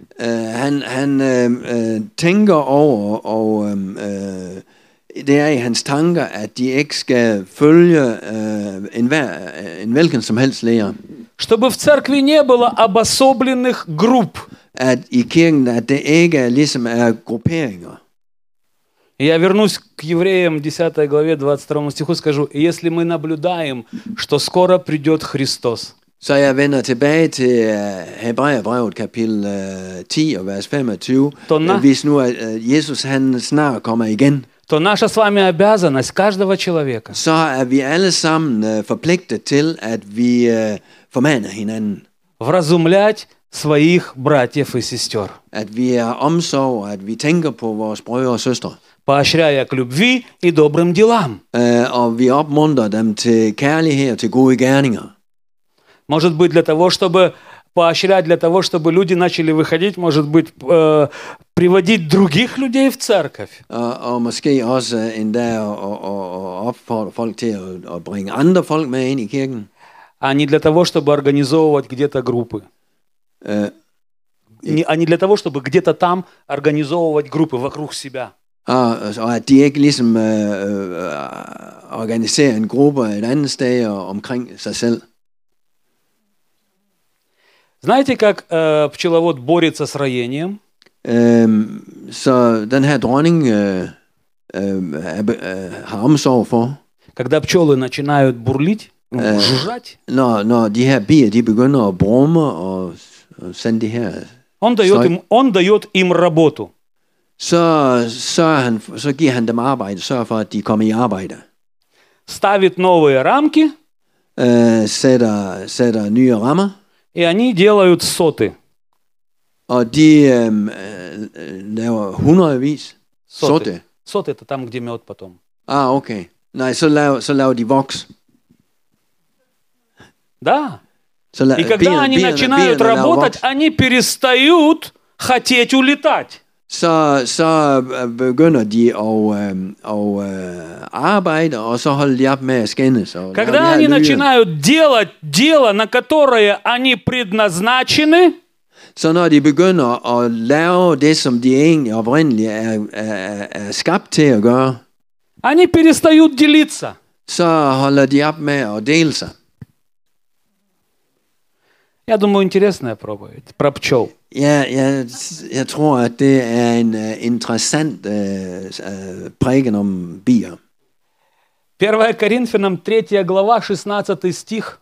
Han tænker over, og det er i hans tanker, at de ikke skal følge en hvilken som helst lærer. Чтобы в церкви не было обособленных групп. At i kirken, at det ikke ligesom er grupperinger. Я вернусь к Евреям 10 главе 22 стиху, скажу: если мы наблюдаем, что скоро придет Христос. Så jeg vender tilbage til Hebræerbrevet kapitel 10 og vers 25. Hvis nu Jesus han snart kommer igen, то наша с вами обязанность каждого человека så er vi alle sammen forpligtet til, at vi formaner hinanden. вразумлять своих братьев и сестер, At vi er omsorg, at vi tænker på vores brødre og søstre. поощряя к любви и добрым делам. Og vi opmuntrer dem til kærlighed og til gode gerninger. Может быть, для того, чтобы поощрять, для того, чтобы люди начали выходить, может быть, приводить других людей в церковь. Og måske også endda at opfordre folk til at bringe andre folk med ind i kirken. А не для того, чтобы организовывать где-то группы. А не для того, чтобы где-то там организовывать группы вокруг себя. Og at de ikke ligesom organiserer en gruppe et andet sted og omkring sig selv. Знаете, как пчеловод борется с роением? Så den her dronning har omsorg for. Когда пчелы начинают бурлить, жужжать, når de her bier de begynder at brumme og sende de her, он дает им работу. Så giver han dem arbejde, sørger for at de kommer i arbejde. Ставит новые рамки, sætter nye rammer. И они делают соты. Og de laver hundredvis. Соты. Соты это там, где мед потом. Okay. Nej, så laver de voks. Да. И когда они начинают работать, они перестают хотеть улетать. Så begynder de at arbejde, og så holder de op med at skændes. Когда они начинают делать дело, на которое они предназначены, så når de begynder at lave det, som de egentlig oprindeligt er skabt til at gøre, они перестают делиться. Så holder de op med at dele sig. Я думаю, интересная проповедь про пчел. Jeg tror, at det er en interessant prædiken om bier. 1 Коринфянам 3 глава, 16 стих.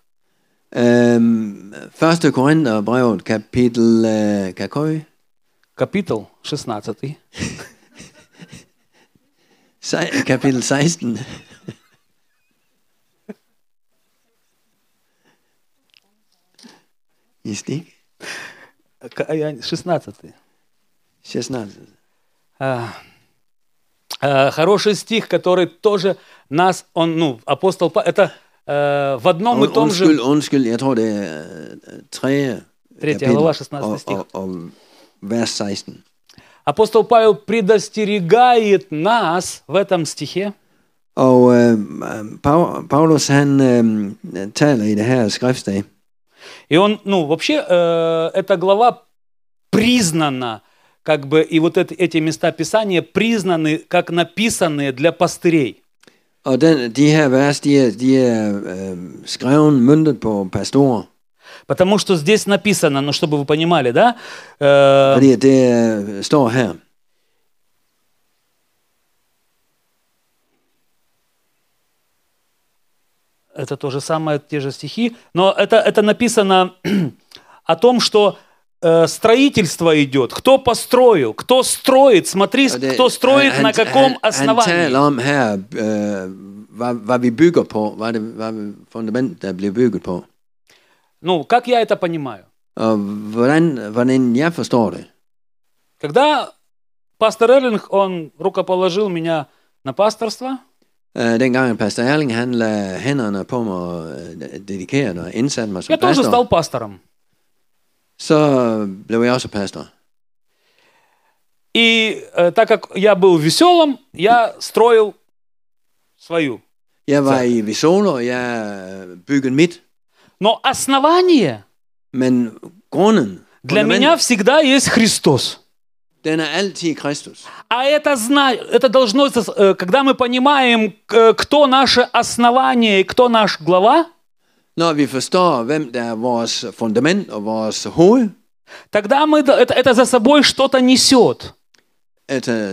1. Korintherbrevet, kapitel... Капитал 16. Kapitel 16. I stik. 16. 16. Хороший стих, который тоже нас, апостол Павел, это в одном и том же... Undskyld, jeg tror, det er 3. глава, 16 стих. Og vers 16. Апостол Павел предостерегает нас в этом стихе. Og Paulus, han taler i det her skriftsted. И он, вообще, эта глава признана, как бы, и вот эти места Писания признаны, как написанные для пастырей. Og de her vers, de er skrevet, møntet på pastorer. Потому что здесь написано, чтобы вы понимали, да? Fordi det står her. Это то же самое, те же стихи, но это написано о том, что строительство идет. Кто построил, кто строит, смотри, кто строит, на каком основании. Han taler om her, hvad vi bygger på, hvad fundament, der bliver bygget på. Как я это понимаю? Og hvordan jeg forstår det. Когда пастор Эрлинг, он рукоположил меня на пасторство, Dengang pastor Erling, han lagde hænderne på mig og dedikerede og indsatte mig som я тоже pastor, стал пастором. så blev jeg også pastor. И так как я был веселым, я строил свою. Jeg var i Visolo, og jeg byggede mit. Но основание Men grunden, для меня всегда есть Христос. den er altid Kristus. А это должно, когда мы понимаем, кто наше основание и кто наш глава, Når vi forstår, hvem der er vores fundament og vores hoved, тогда это за собой что-то несет. Это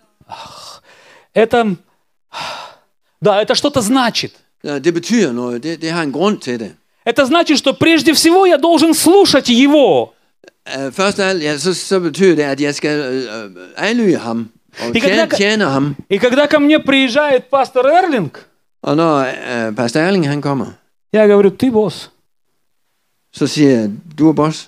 что-то значит. det betyder noget. Det har en grund til det. Это значит, что прежде всего я должен слушать Его. Først af alt, så betyder det, at jeg skal adlyde ham og tjene ham. И когда ко мне приезжает пастор Эрлинг, Og når pastor Erling han kommer, я говорю, ты босс. så siger jeg, du er boss.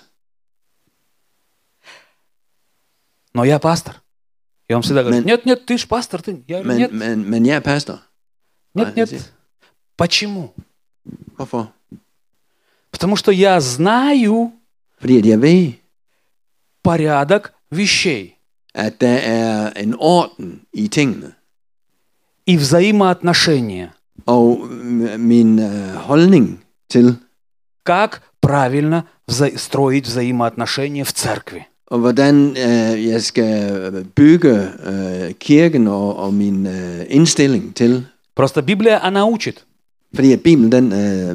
Но я пастор. И он всегда говорит, нет, ты ж пастор. Я говорю, нет. Men jeg er pastor. Нет. Почему? Hvorfor? Потому что я знаю Fordi at jeg ved, порядок вещей at der er en orden i tingene. и взаимоотношения. Og min holdning til, как правильно строить взаимоотношения в церкви. Og hvordan jeg skal bygge kirken og min indstilling til. Просто Библия, она учит. Fordi at Bibelen, den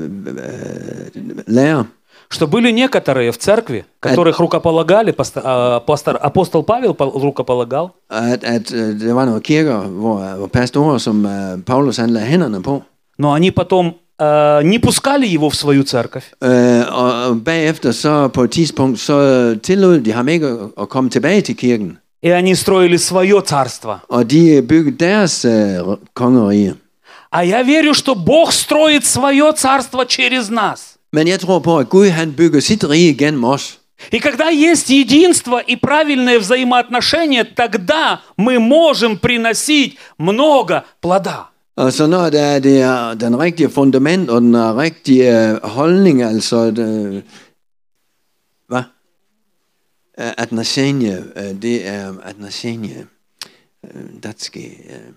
lærer, что были некоторые в церкви, которых рукополагали, апостол Павел рукополагал. At der var nogle kirker, hvor pastorer, som Paulus han lagde hænderne på. Но они потом не пускали его в свою церковь. Og bagefter, så på et tidspunkt, så tillod de ham ikke at komme tilbage til kirken. И они строили свое царство. Og de byggede deres kongerige. А я верю, что Бог строит свое царство через нас. Men jeg tror på, at Gud han bygger sit rige gennem os. И когда есть единство и правильное взаимоотношение, тогда мы можем приносить много плода. Og så når der er den rigtige fundament og den rigtige holdning, altså hvad? Отношение, det er отношение. Датский.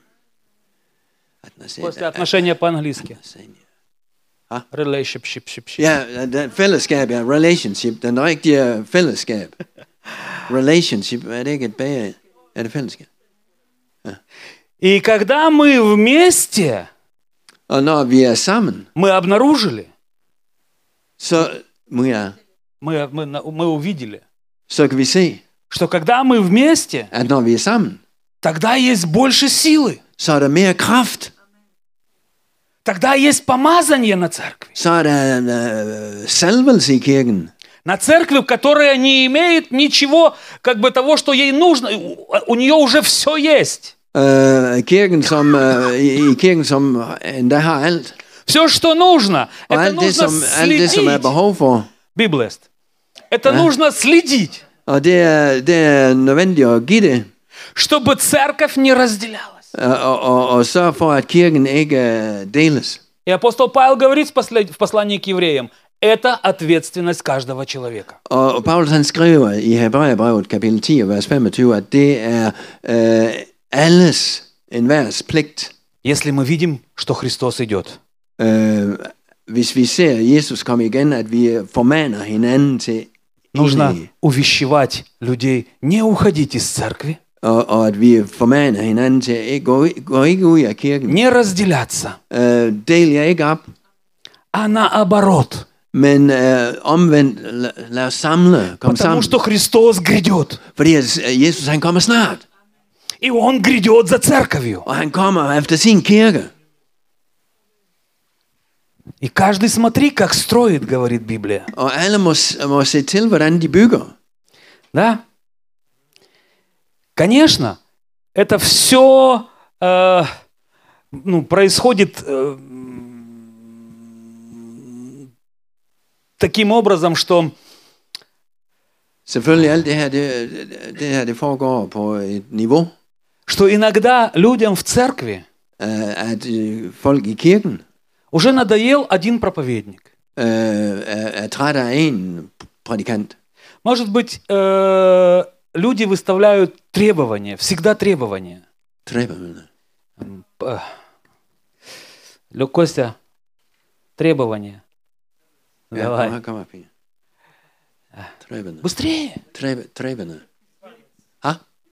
После отношения по-английски. Relationship. Ja, fællesskab, ja. Relationship. Den rigtige fællesskab. Relationship, er det ikke et bedre? Er det fællesskab? Ja. И когда мы вместе, og når vi er sammen, мы обнаружили, så мы увидели, så kan vi se, что когда мы вместе, at når vi er sammen, тогда есть больше силы. så er der mere kraft. Тогда есть помазание на церкви. Så er der salvelse i kirken. На церкви, которая не имеет ничего, как бы того, что ей нужно. У нее уже все есть. Kirken, i kirken, som endda har alt. Все, что нужно. Og Это alt нужно det, som er следить. behov for. Библист. Это нужно следить, Og det er nødvendigt at give det. чтобы церковь не разделялась. Og sørge for, at kirken ikke deles. И апостол Павел говорит в послании к евреям, это ответственность каждого человека. Og Paulus han skriver i Hebræerbrevet kapitel 10 vers 25, at det er alles enhvers pligt. Если мы видим, что Христос идет, Hvis vi ser Jesus komme igen, at vi formaner hinanden til нужно enighed. увещевать людей, не уходить из церкви, Og at vi formaner hinanden til at gå ikke ud af kirken. не разделяться, Del jer ikke op, а наоборот. men omvendt lad os samle, kom Потому sammen. что Христос грядет. Fordi at Jesus han kommer snart, И Он грядет за церковью. og han kommer efter sin kirke. И каждый смотри, как строит, говорит Библия. Og alle må se til, hvordan de bygger. Да? Конечно, это все происходит таким образом, что Selvfølgelig alt det her det foregår på et niveau, что иногда людям в церкви at folk i kirken уже надоел один проповедник. er træt af en prædikant. Может быть, люди выставляют требования, всегда требования. Treberne. Костя, требования. Ja, Давай. kom op, Pia. Treberne. Bыстрее. Treberne. Ha?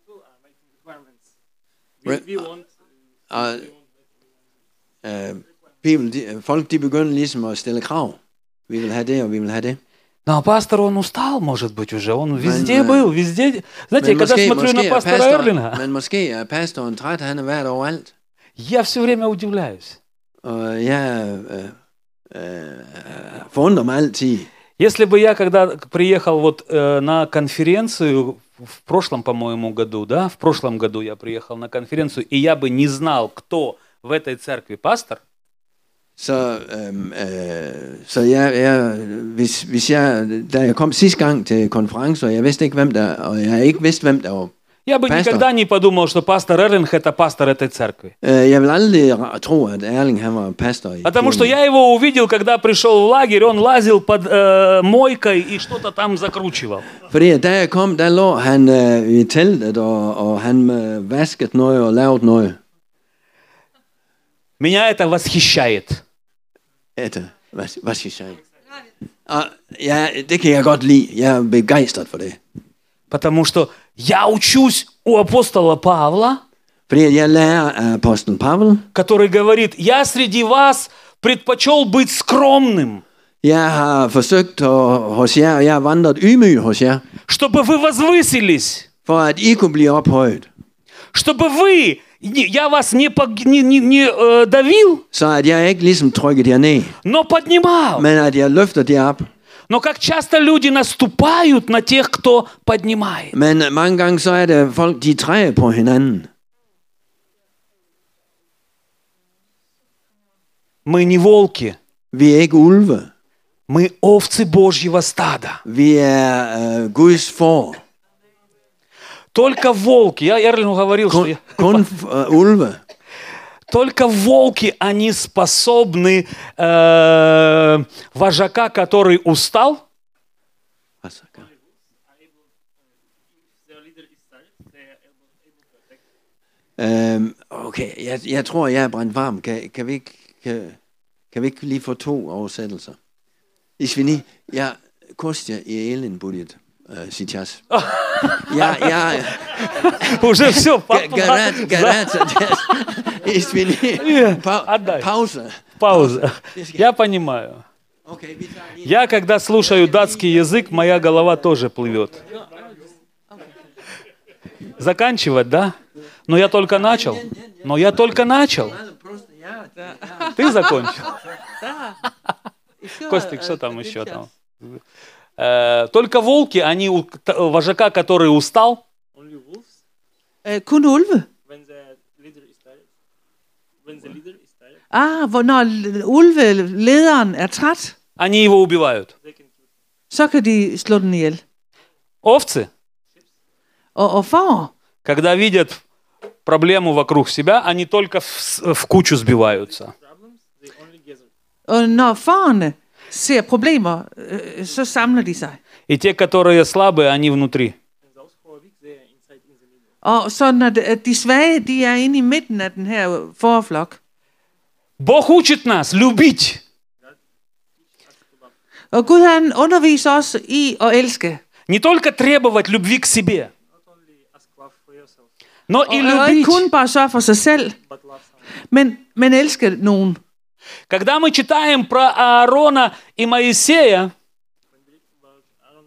Folk de begynder ligesom at stille krav. Vi vil have det, og vi vil have det. Но пастор, он устал, может быть, уже. Он везде был, везде. Знаете, я когда смотрю на пастора Эрлинга, men måske er pastoren træt, han er været overalt. я все время удивляюсь. Og jeg forundrer mig altid. Если бы я когда приехал вот на конференцию в прошлом, по-моему, году, да, в прошлом году я приехал на конференцию, и я бы не знал, кто в этой церкви пастор, Så hvis jeg, da jeg kom sidste gang til konference, og jeg vidste ikke, hvem der, og jeg ikke vidste, hvem der var я бы пастор. никогда не подумал, что пастор Эрлинг – это пастор этой церкви. Jeg vil aldrig tro, at Erling han var pastor i Потому что kirken. я его увидел, когда пришел в лагерь, он лазил под мойкой и что-то там закручивал. Fordi da jeg kom, der lå han i teltet, og han vaskede noget og lavede noget. Меня это восхищает. Hvad siger jeg? Og ja, det kan jeg godt lide. Jeg er begejstret for det. Потому что я учусь у апостола Павла, Fordi jeg lærer af apostlen Pavel. который говорит, я среди вас предпочел быть скромным, Jeg har forsøgt hos jer, og jeg har vandret ydmyg hos jer, чтобы вы возвысились, for at I kunne blive ophøjet. чтобы вы, я вас не давил, Så at jeg ikke ligesom trykker jer ned, но поднимал. men at jeg løfter jer op. Но как часто люди наступают на тех, кто поднимает. Men mange gange så er det folk, de træder på hinanden. Мы не волки, Vi er ikke ulve. мы овцы Божьего стада. Vi er Guds får. Только волки, я Эрлину говорил, что Kun ulve. только волки, они способны вожака, который устал, Okay, jeg tror, jeg er brændt varm. Kan vi ikke lige få 2 oversættelser? Извини, я Костя и Эллин будет сейчас. Я уже все, гараж. Извини. отдай. Пауза. Пауза. Я понимаю. Okay, vi tager lige... Я, когда слушаю датский язык, моя голова тоже плывет. Заканчивать, да? Но я только начал. Но я только начал. Просто, ja, Ты закончил. Еще, Костик, что там еще там? Только волки, они у вожака, который устал, Only wolves kun ulve. when the leader is tired. When the leader is tired, Når ulvelederen er træt, они его убивают. they can kill him. så kan de slå den ihjel. Ovцы, Og får, когда видят проблему вокруг себя, они только в кучу сбиваются. Problems, they only gather. og når fårene ser problemer, så samler de sig. И те, которые слабые, они внутри. And those who are weak, they are inside in the middle. Og så når de svage, de er inde i midten af den her forflok. Бог учит нас любить. Og Gud han underviser os i at elske. Не только требовать любви к себе, Not only ask love for yourself, но и Og ikke любить. kun bare sørge for sig selv, but love someone. men elske nogen. Когда мы читаем про Аарона и Моисея, When we read about Aaron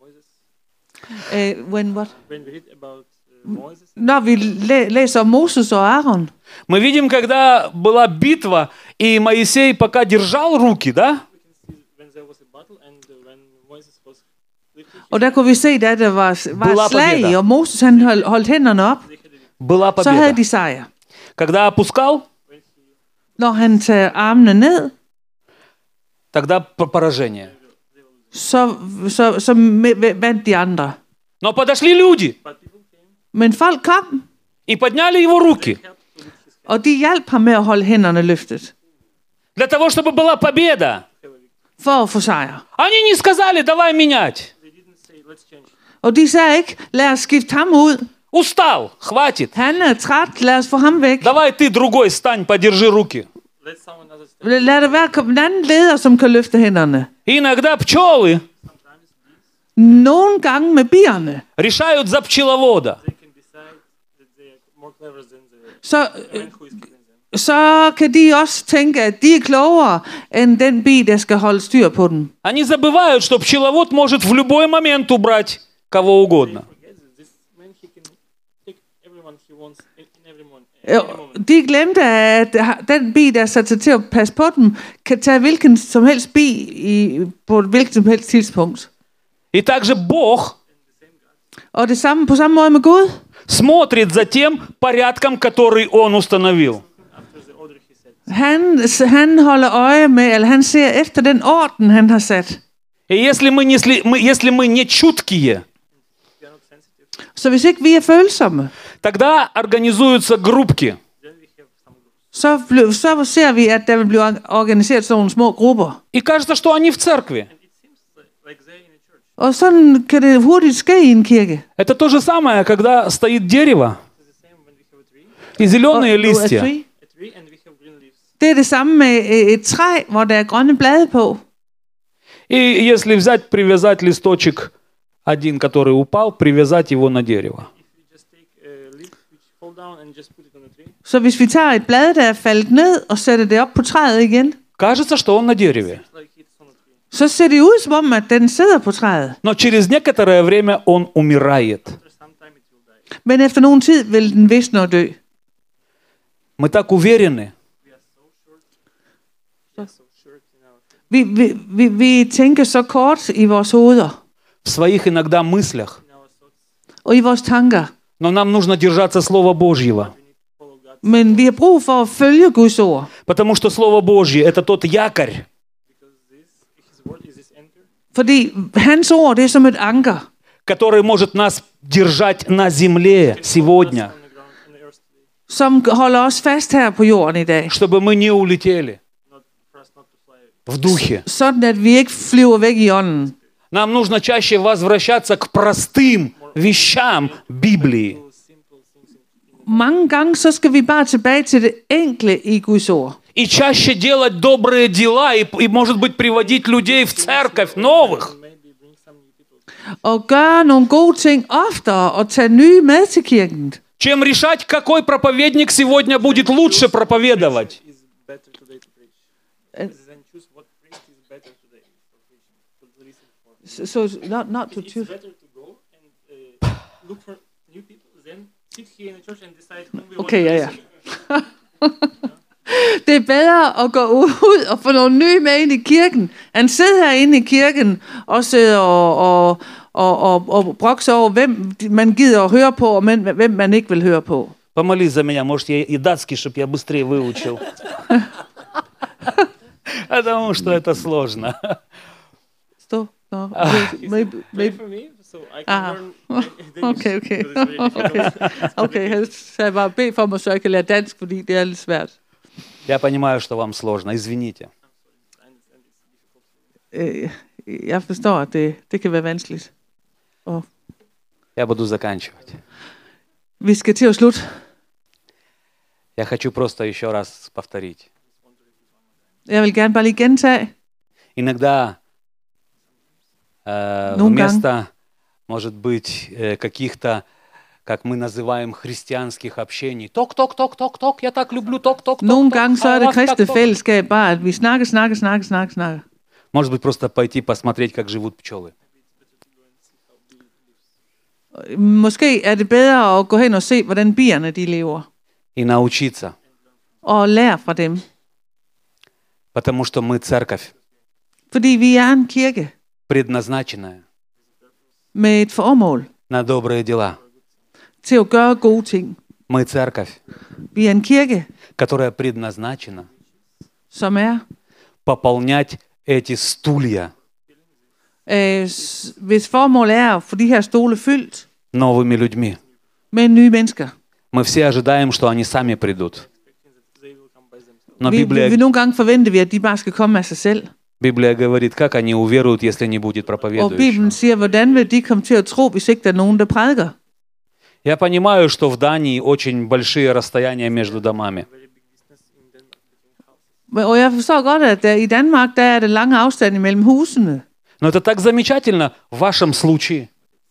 and Moses, When what? when we read about Moses, Når vi læser om Moses og Aaron, мы видим, когда была битва, и Моисей пока держал руки, да? we can see when there was a battle and when Moses was lifting his og der kunne vi se, da der var Была et slag, победа. og Moses han holdt hænderne op, they had a victory. Была så havde победа. de sejr. Когда опускал, When he Når han tager armene ned, тогда поражение. så vandt de andre. Но подошли люди but people came, Men folk kom, и подняли его руки helped to lift his head. og de hjalp ham med at holde hænderne løftet, для того, чтобы была победа. for at få sejr. Они не сказали, давай менять. They didn't say, let's change. Og de sagde ikke, lad os skifte ham ud. Устал, хватит. Han er træt, lad os få ham væk. Давай ты другой стань, подержи руки. Let someone else stand. Lad det være en anden leder, som kan løfte hænderne. И иногда пчелы Nogle gange med bierne, решают за пчеловода. They can decide that they are more clever than the så, man who is killing them. så kan de også tænke, at de er klogere end den bi, der skal holde styr på den. Они забывают, что пчеловод может в любой момент убрать кого угодно. Forget that this man, he can take everyone he wants in every moment. De glemte, at den bi, der er sat sig til at passe på dem, kan tage hvilken som helst bi på et hvilket som helst tidspunkt. И также Бог Og det samme på samme måde med Gud. смотрит за тем порядком, который Он установил. After the order he said. Han holder øje med, eller han ser efter den orden, han har sat. И если мы не чуткие, We are not sensitive. Så hvis ikke vi er følsomme, тогда организуются группки. Then we have some groups. så ser vi, at der vil blive organiseret sådan nogle små grupper. И кажется, что они в церкви. And it seems like they're in a church. Og sådan kan det hurtigt ske i en kirke. Это то же самое, когда стоит дерево It's the same when we have a tree, и зеленые листья. a tree and we have green leaves. Det er det samme med et træ, hvor der er grønne blade på. И если взять, привязать листочек один, который упал, привязать его на дерево. If we just take a leaf which fall down and just put it on a tree, Så hvis vi tager et blad, der er faldet ned, og sætter det op på træet igen, Кажется, что он на дереве. it's like it's on a tree. så ser det ud som om, at den sidder på træet. Но через некоторое время он умирает. After some time it will die. Men efter nogen tid vil den visne og dø. Мы так уверены, We are so short in our Vi tænker så kort i vores hoveder в своих иногда мыслях. thoughts. og i vores tanker. Но нам нужно держаться Слова Божьего. We need to follow God Men vi har brug for at følge Guds ord. Потому что Слово Божье – это тот якорь, because His word is this anchor Fordi hans ord, det er som et anker, который может нас держать на земле сегодня, on the ground on the earth today, som holder os fast her på jorden i dag. чтобы мы не улетели not for us not to fly. в духе. Sådan at vi ikke flyver væk i ånden. Нам нужно чаще возвращаться к простым вещам Библии. So simple things in Mange gange så skal vi bare tilbage til det enkle i Guds ord. И чаще делать добрые дела, и, может быть, приводить людей в церковь новых. maybe bring some new people. Og gøre nogle gode ting oftere og tage nye med til kirken. Чем решать, какой проповедник сегодня будет лучше проповедовать. Is better today to preach. Then choose what priest is better today. So not to It's choose. better to go and look for new people than sit here in the church and decide whom we Okay, want ja, to ja. listen. Det er bedre at gå ud og få nogle nye med ind i kirken, end sidde herinde i kirken og sidde og brokse over, hvem man gider at høre på, og hvem man ikke vil høre på. Помолись за меня, может, я и датский, чтобы я быстрее выучил. Потому что это сложно. Stå. Nå, Pray for me, so I can learn Danish. Okay. because it's very difficult. Okay, han sagde bare, bed for mig, så jeg kan lære dansk, fordi det er lidt svært. Я понимаю, что вам сложно, извините. Jeg forstår, at det kan være vanskeligt. Og Я буду заканчивать. vi skal til at slutte. Я хочу просто еще раз повторить. Jeg vil gerne bare lige gentage. Иногда вместо, может быть, каких-то, как мы называем, христианских общений. Ток, я так люблю ток. Nogle gange så er det kristne fællesskab bare, at vi snakker. Может быть, просто пойти посмотреть, как живут пчелы. Måske er det bedre at gå hen og se, hvordan bierne de lever. И научиться. Og lære fra dem. Потому что мы церковь, Fordi vi er en kirke предназначенная med et formål на добрые дела. til at gøre gode ting. Мы церковь, Vi er en kirke, которая предназначена som er, пополнять эти стулья hvis formål er at få de her stole fyldt новыми людьми. med nye mennesker. Мы все ожидаем, что они сами придут. Но Vi nogle gange forventer vi, at de bare skal komme af sig selv. Библия говорит, как они уверуют, если не будет Og проповедующего. Bibelen siger, hvordan vil de komme til at tro, hvis ikke der er nogen, der prædiker? Я понимаю, что в Дании очень большие расстояния между домами. Og jeg forstår godt, at der, i Danmark, der er der lange afstande mellem husene. Но это так замечательно в вашем случае.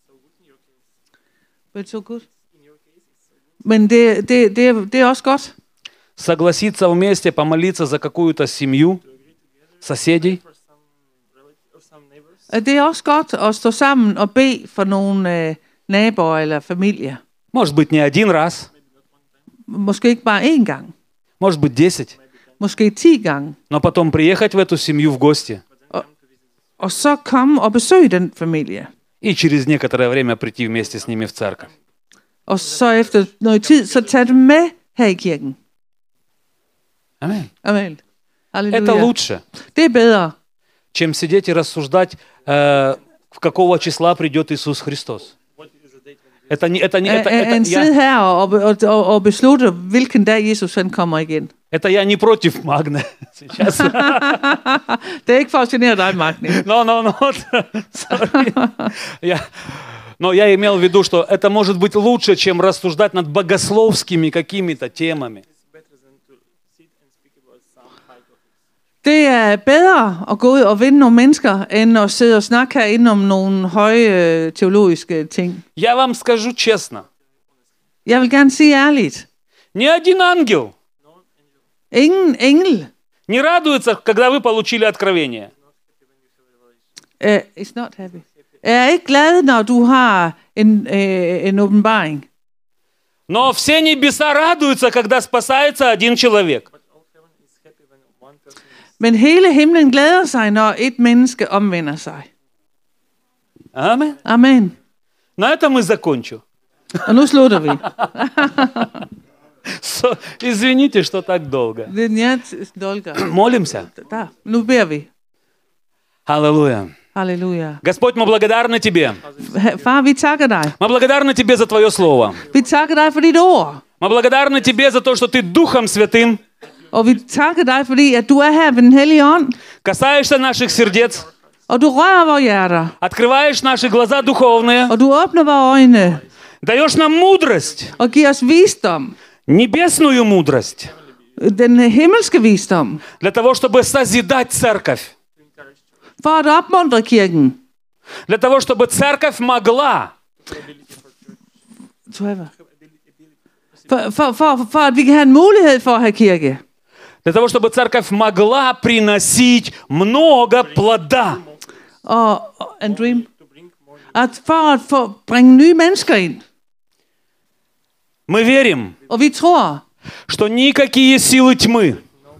Men det er også godt. Согласиться вместе помолиться за какую-то семью, соседей. Det er også godt at stå sammen og bede for nogle naboer eller familier. Может быть, не один раз, Måske ikke bare én gang. может быть, 10. Måske 10 gange. Но потом приехать в эту семью в гости Og så komme og besøge den familie. и через некоторое время прийти вместе с ними в церковь. Og så efter noget tid, så tage dem med her i kirken. Аминь. Amen. Это Halleluja. лучше, Det er bedre, чем сидеть и рассуждать, в какого числа придет Иисус Христос. Это end sidde her og beslutte, hvilken dag Jesus han kommer igen. это я не против Магны сейчас. Det er ikke for at genere dig, Magni. No. Sorry. Но я имел в виду, что это может быть лучше, чем рассуждать над богословскими какими-то темами. Det er bedre at gå ud og vinde nogle mennesker, end at sidde og snakke herinde om nogle høje teologiske ting. Я вам скажу честно, Jeg vil gerne sige ærligt. ни один ангел Ingen engel не радуется, когда вы получили откровение. is not happy. Er ikke glad, når du har en åbenbaring. Но все небеса радуются, когда спасается один человек. Men hele himlen glæder sig, når et menneske omvender sig. Аминь. Amen. На этом и закончу. Og nu slutter vi. Извините, что так долго. Det er njert, dolker. Молимся. Der. Nu beder vi. Аллилуйя. Halleluja. Господь, мы благодарны Тебе. Far, vi takker dig. Мы благодарны Тебе за Твое Слово. Vi takker dig for dit ord. Мы благодарны Тебе за то, что Ты Духом Святым Og vi takker dig, fordi at du er her ved den hellige ånd. касаешься наших сердец, Og du rører vores hjerter. открываешь наши глаза духовные, Og du åbner vores øjne. даешь нам мудрость, Og giver os visdom. небесную мудрость, Den himmelske visdom. для того, чтобы созидать церковь, For at opmuntre kirken. для того, чтобы церковь могла For at vi kan have en mulighed for at have kirke. для того, чтобы церковь могла приносить много плода. and dream. For at bringe nye mennesker ind. Мы верим, Og vi tror, что никакие силы тьмы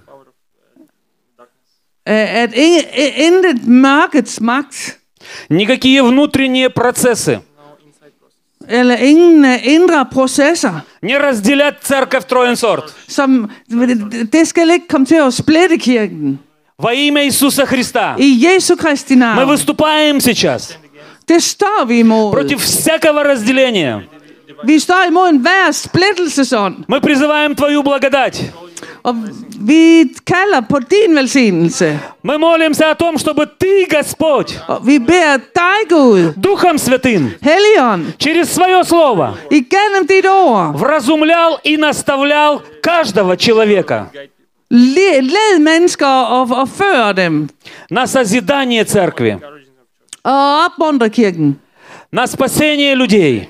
at intet mørkets magt, никакие внутренние процессы eller ingen indre processer, не разделят церковь Троенсорт. som det skal ikke komme til at splitte kirken. Во имя Иисуса Христа I Jesu Kristi мы navn. выступаем сейчас Det står vi imod. против всякого разделения. Vi står imod enhver splittelsesånd. Мы призываем Твою благодать. Og vi kalder på din velsignelse. Мы молимся о том, чтобы Ты, Господь, Og vi beder dig, Gud, Духом Святым, Helligånd, через Свое Слово igennem dit ord, вразумлял и наставлял каждого человека led mennesker og før dem. на созидание церкви, Og opmuntre kirken. на спасение людей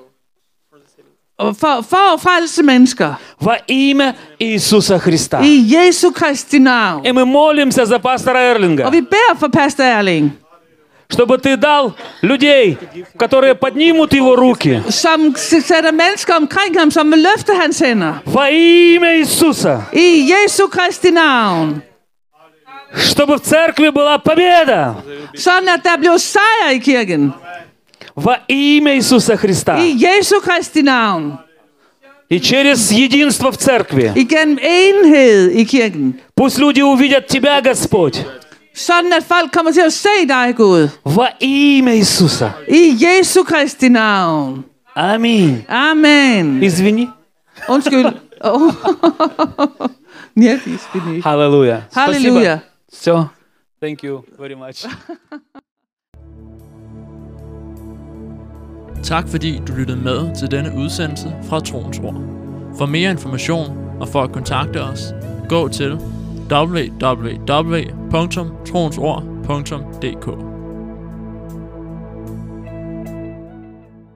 Og for at frelse mennesker. во имя Иисуса Христа. I Jesu Kristi navn. И мы молимся за пастора Og Эрлинга, vi beder for pastor Erling, чтобы Ты дал людей, которые поднимут его руки som sætter mennesker omkring ham, som vil løfte hans hænder. во имя Иисуса, I Jesu Kristi navn. чтобы в церкви была победа Sådan at der bliver sejr i kirken. во имя Иисуса Христа. I Jesu Kristi navn. И через единство в церкви Igennem enhed i kirken. пусть люди увидят Тебя, Господь, Sådan at folk kommer til at se dig, Gud. во имя Иисуса. I Jesu Kristi navn. Аминь. Amen. Извини. Undskyld. Oh. Ja, det er ikke. Halleluja. Halleluja. Все. Thank you very much. Tak fordi du lyttede med til denne udsendelse fra Troens Ord. For mere information og for at kontakte os, gå til www.troensord.dk.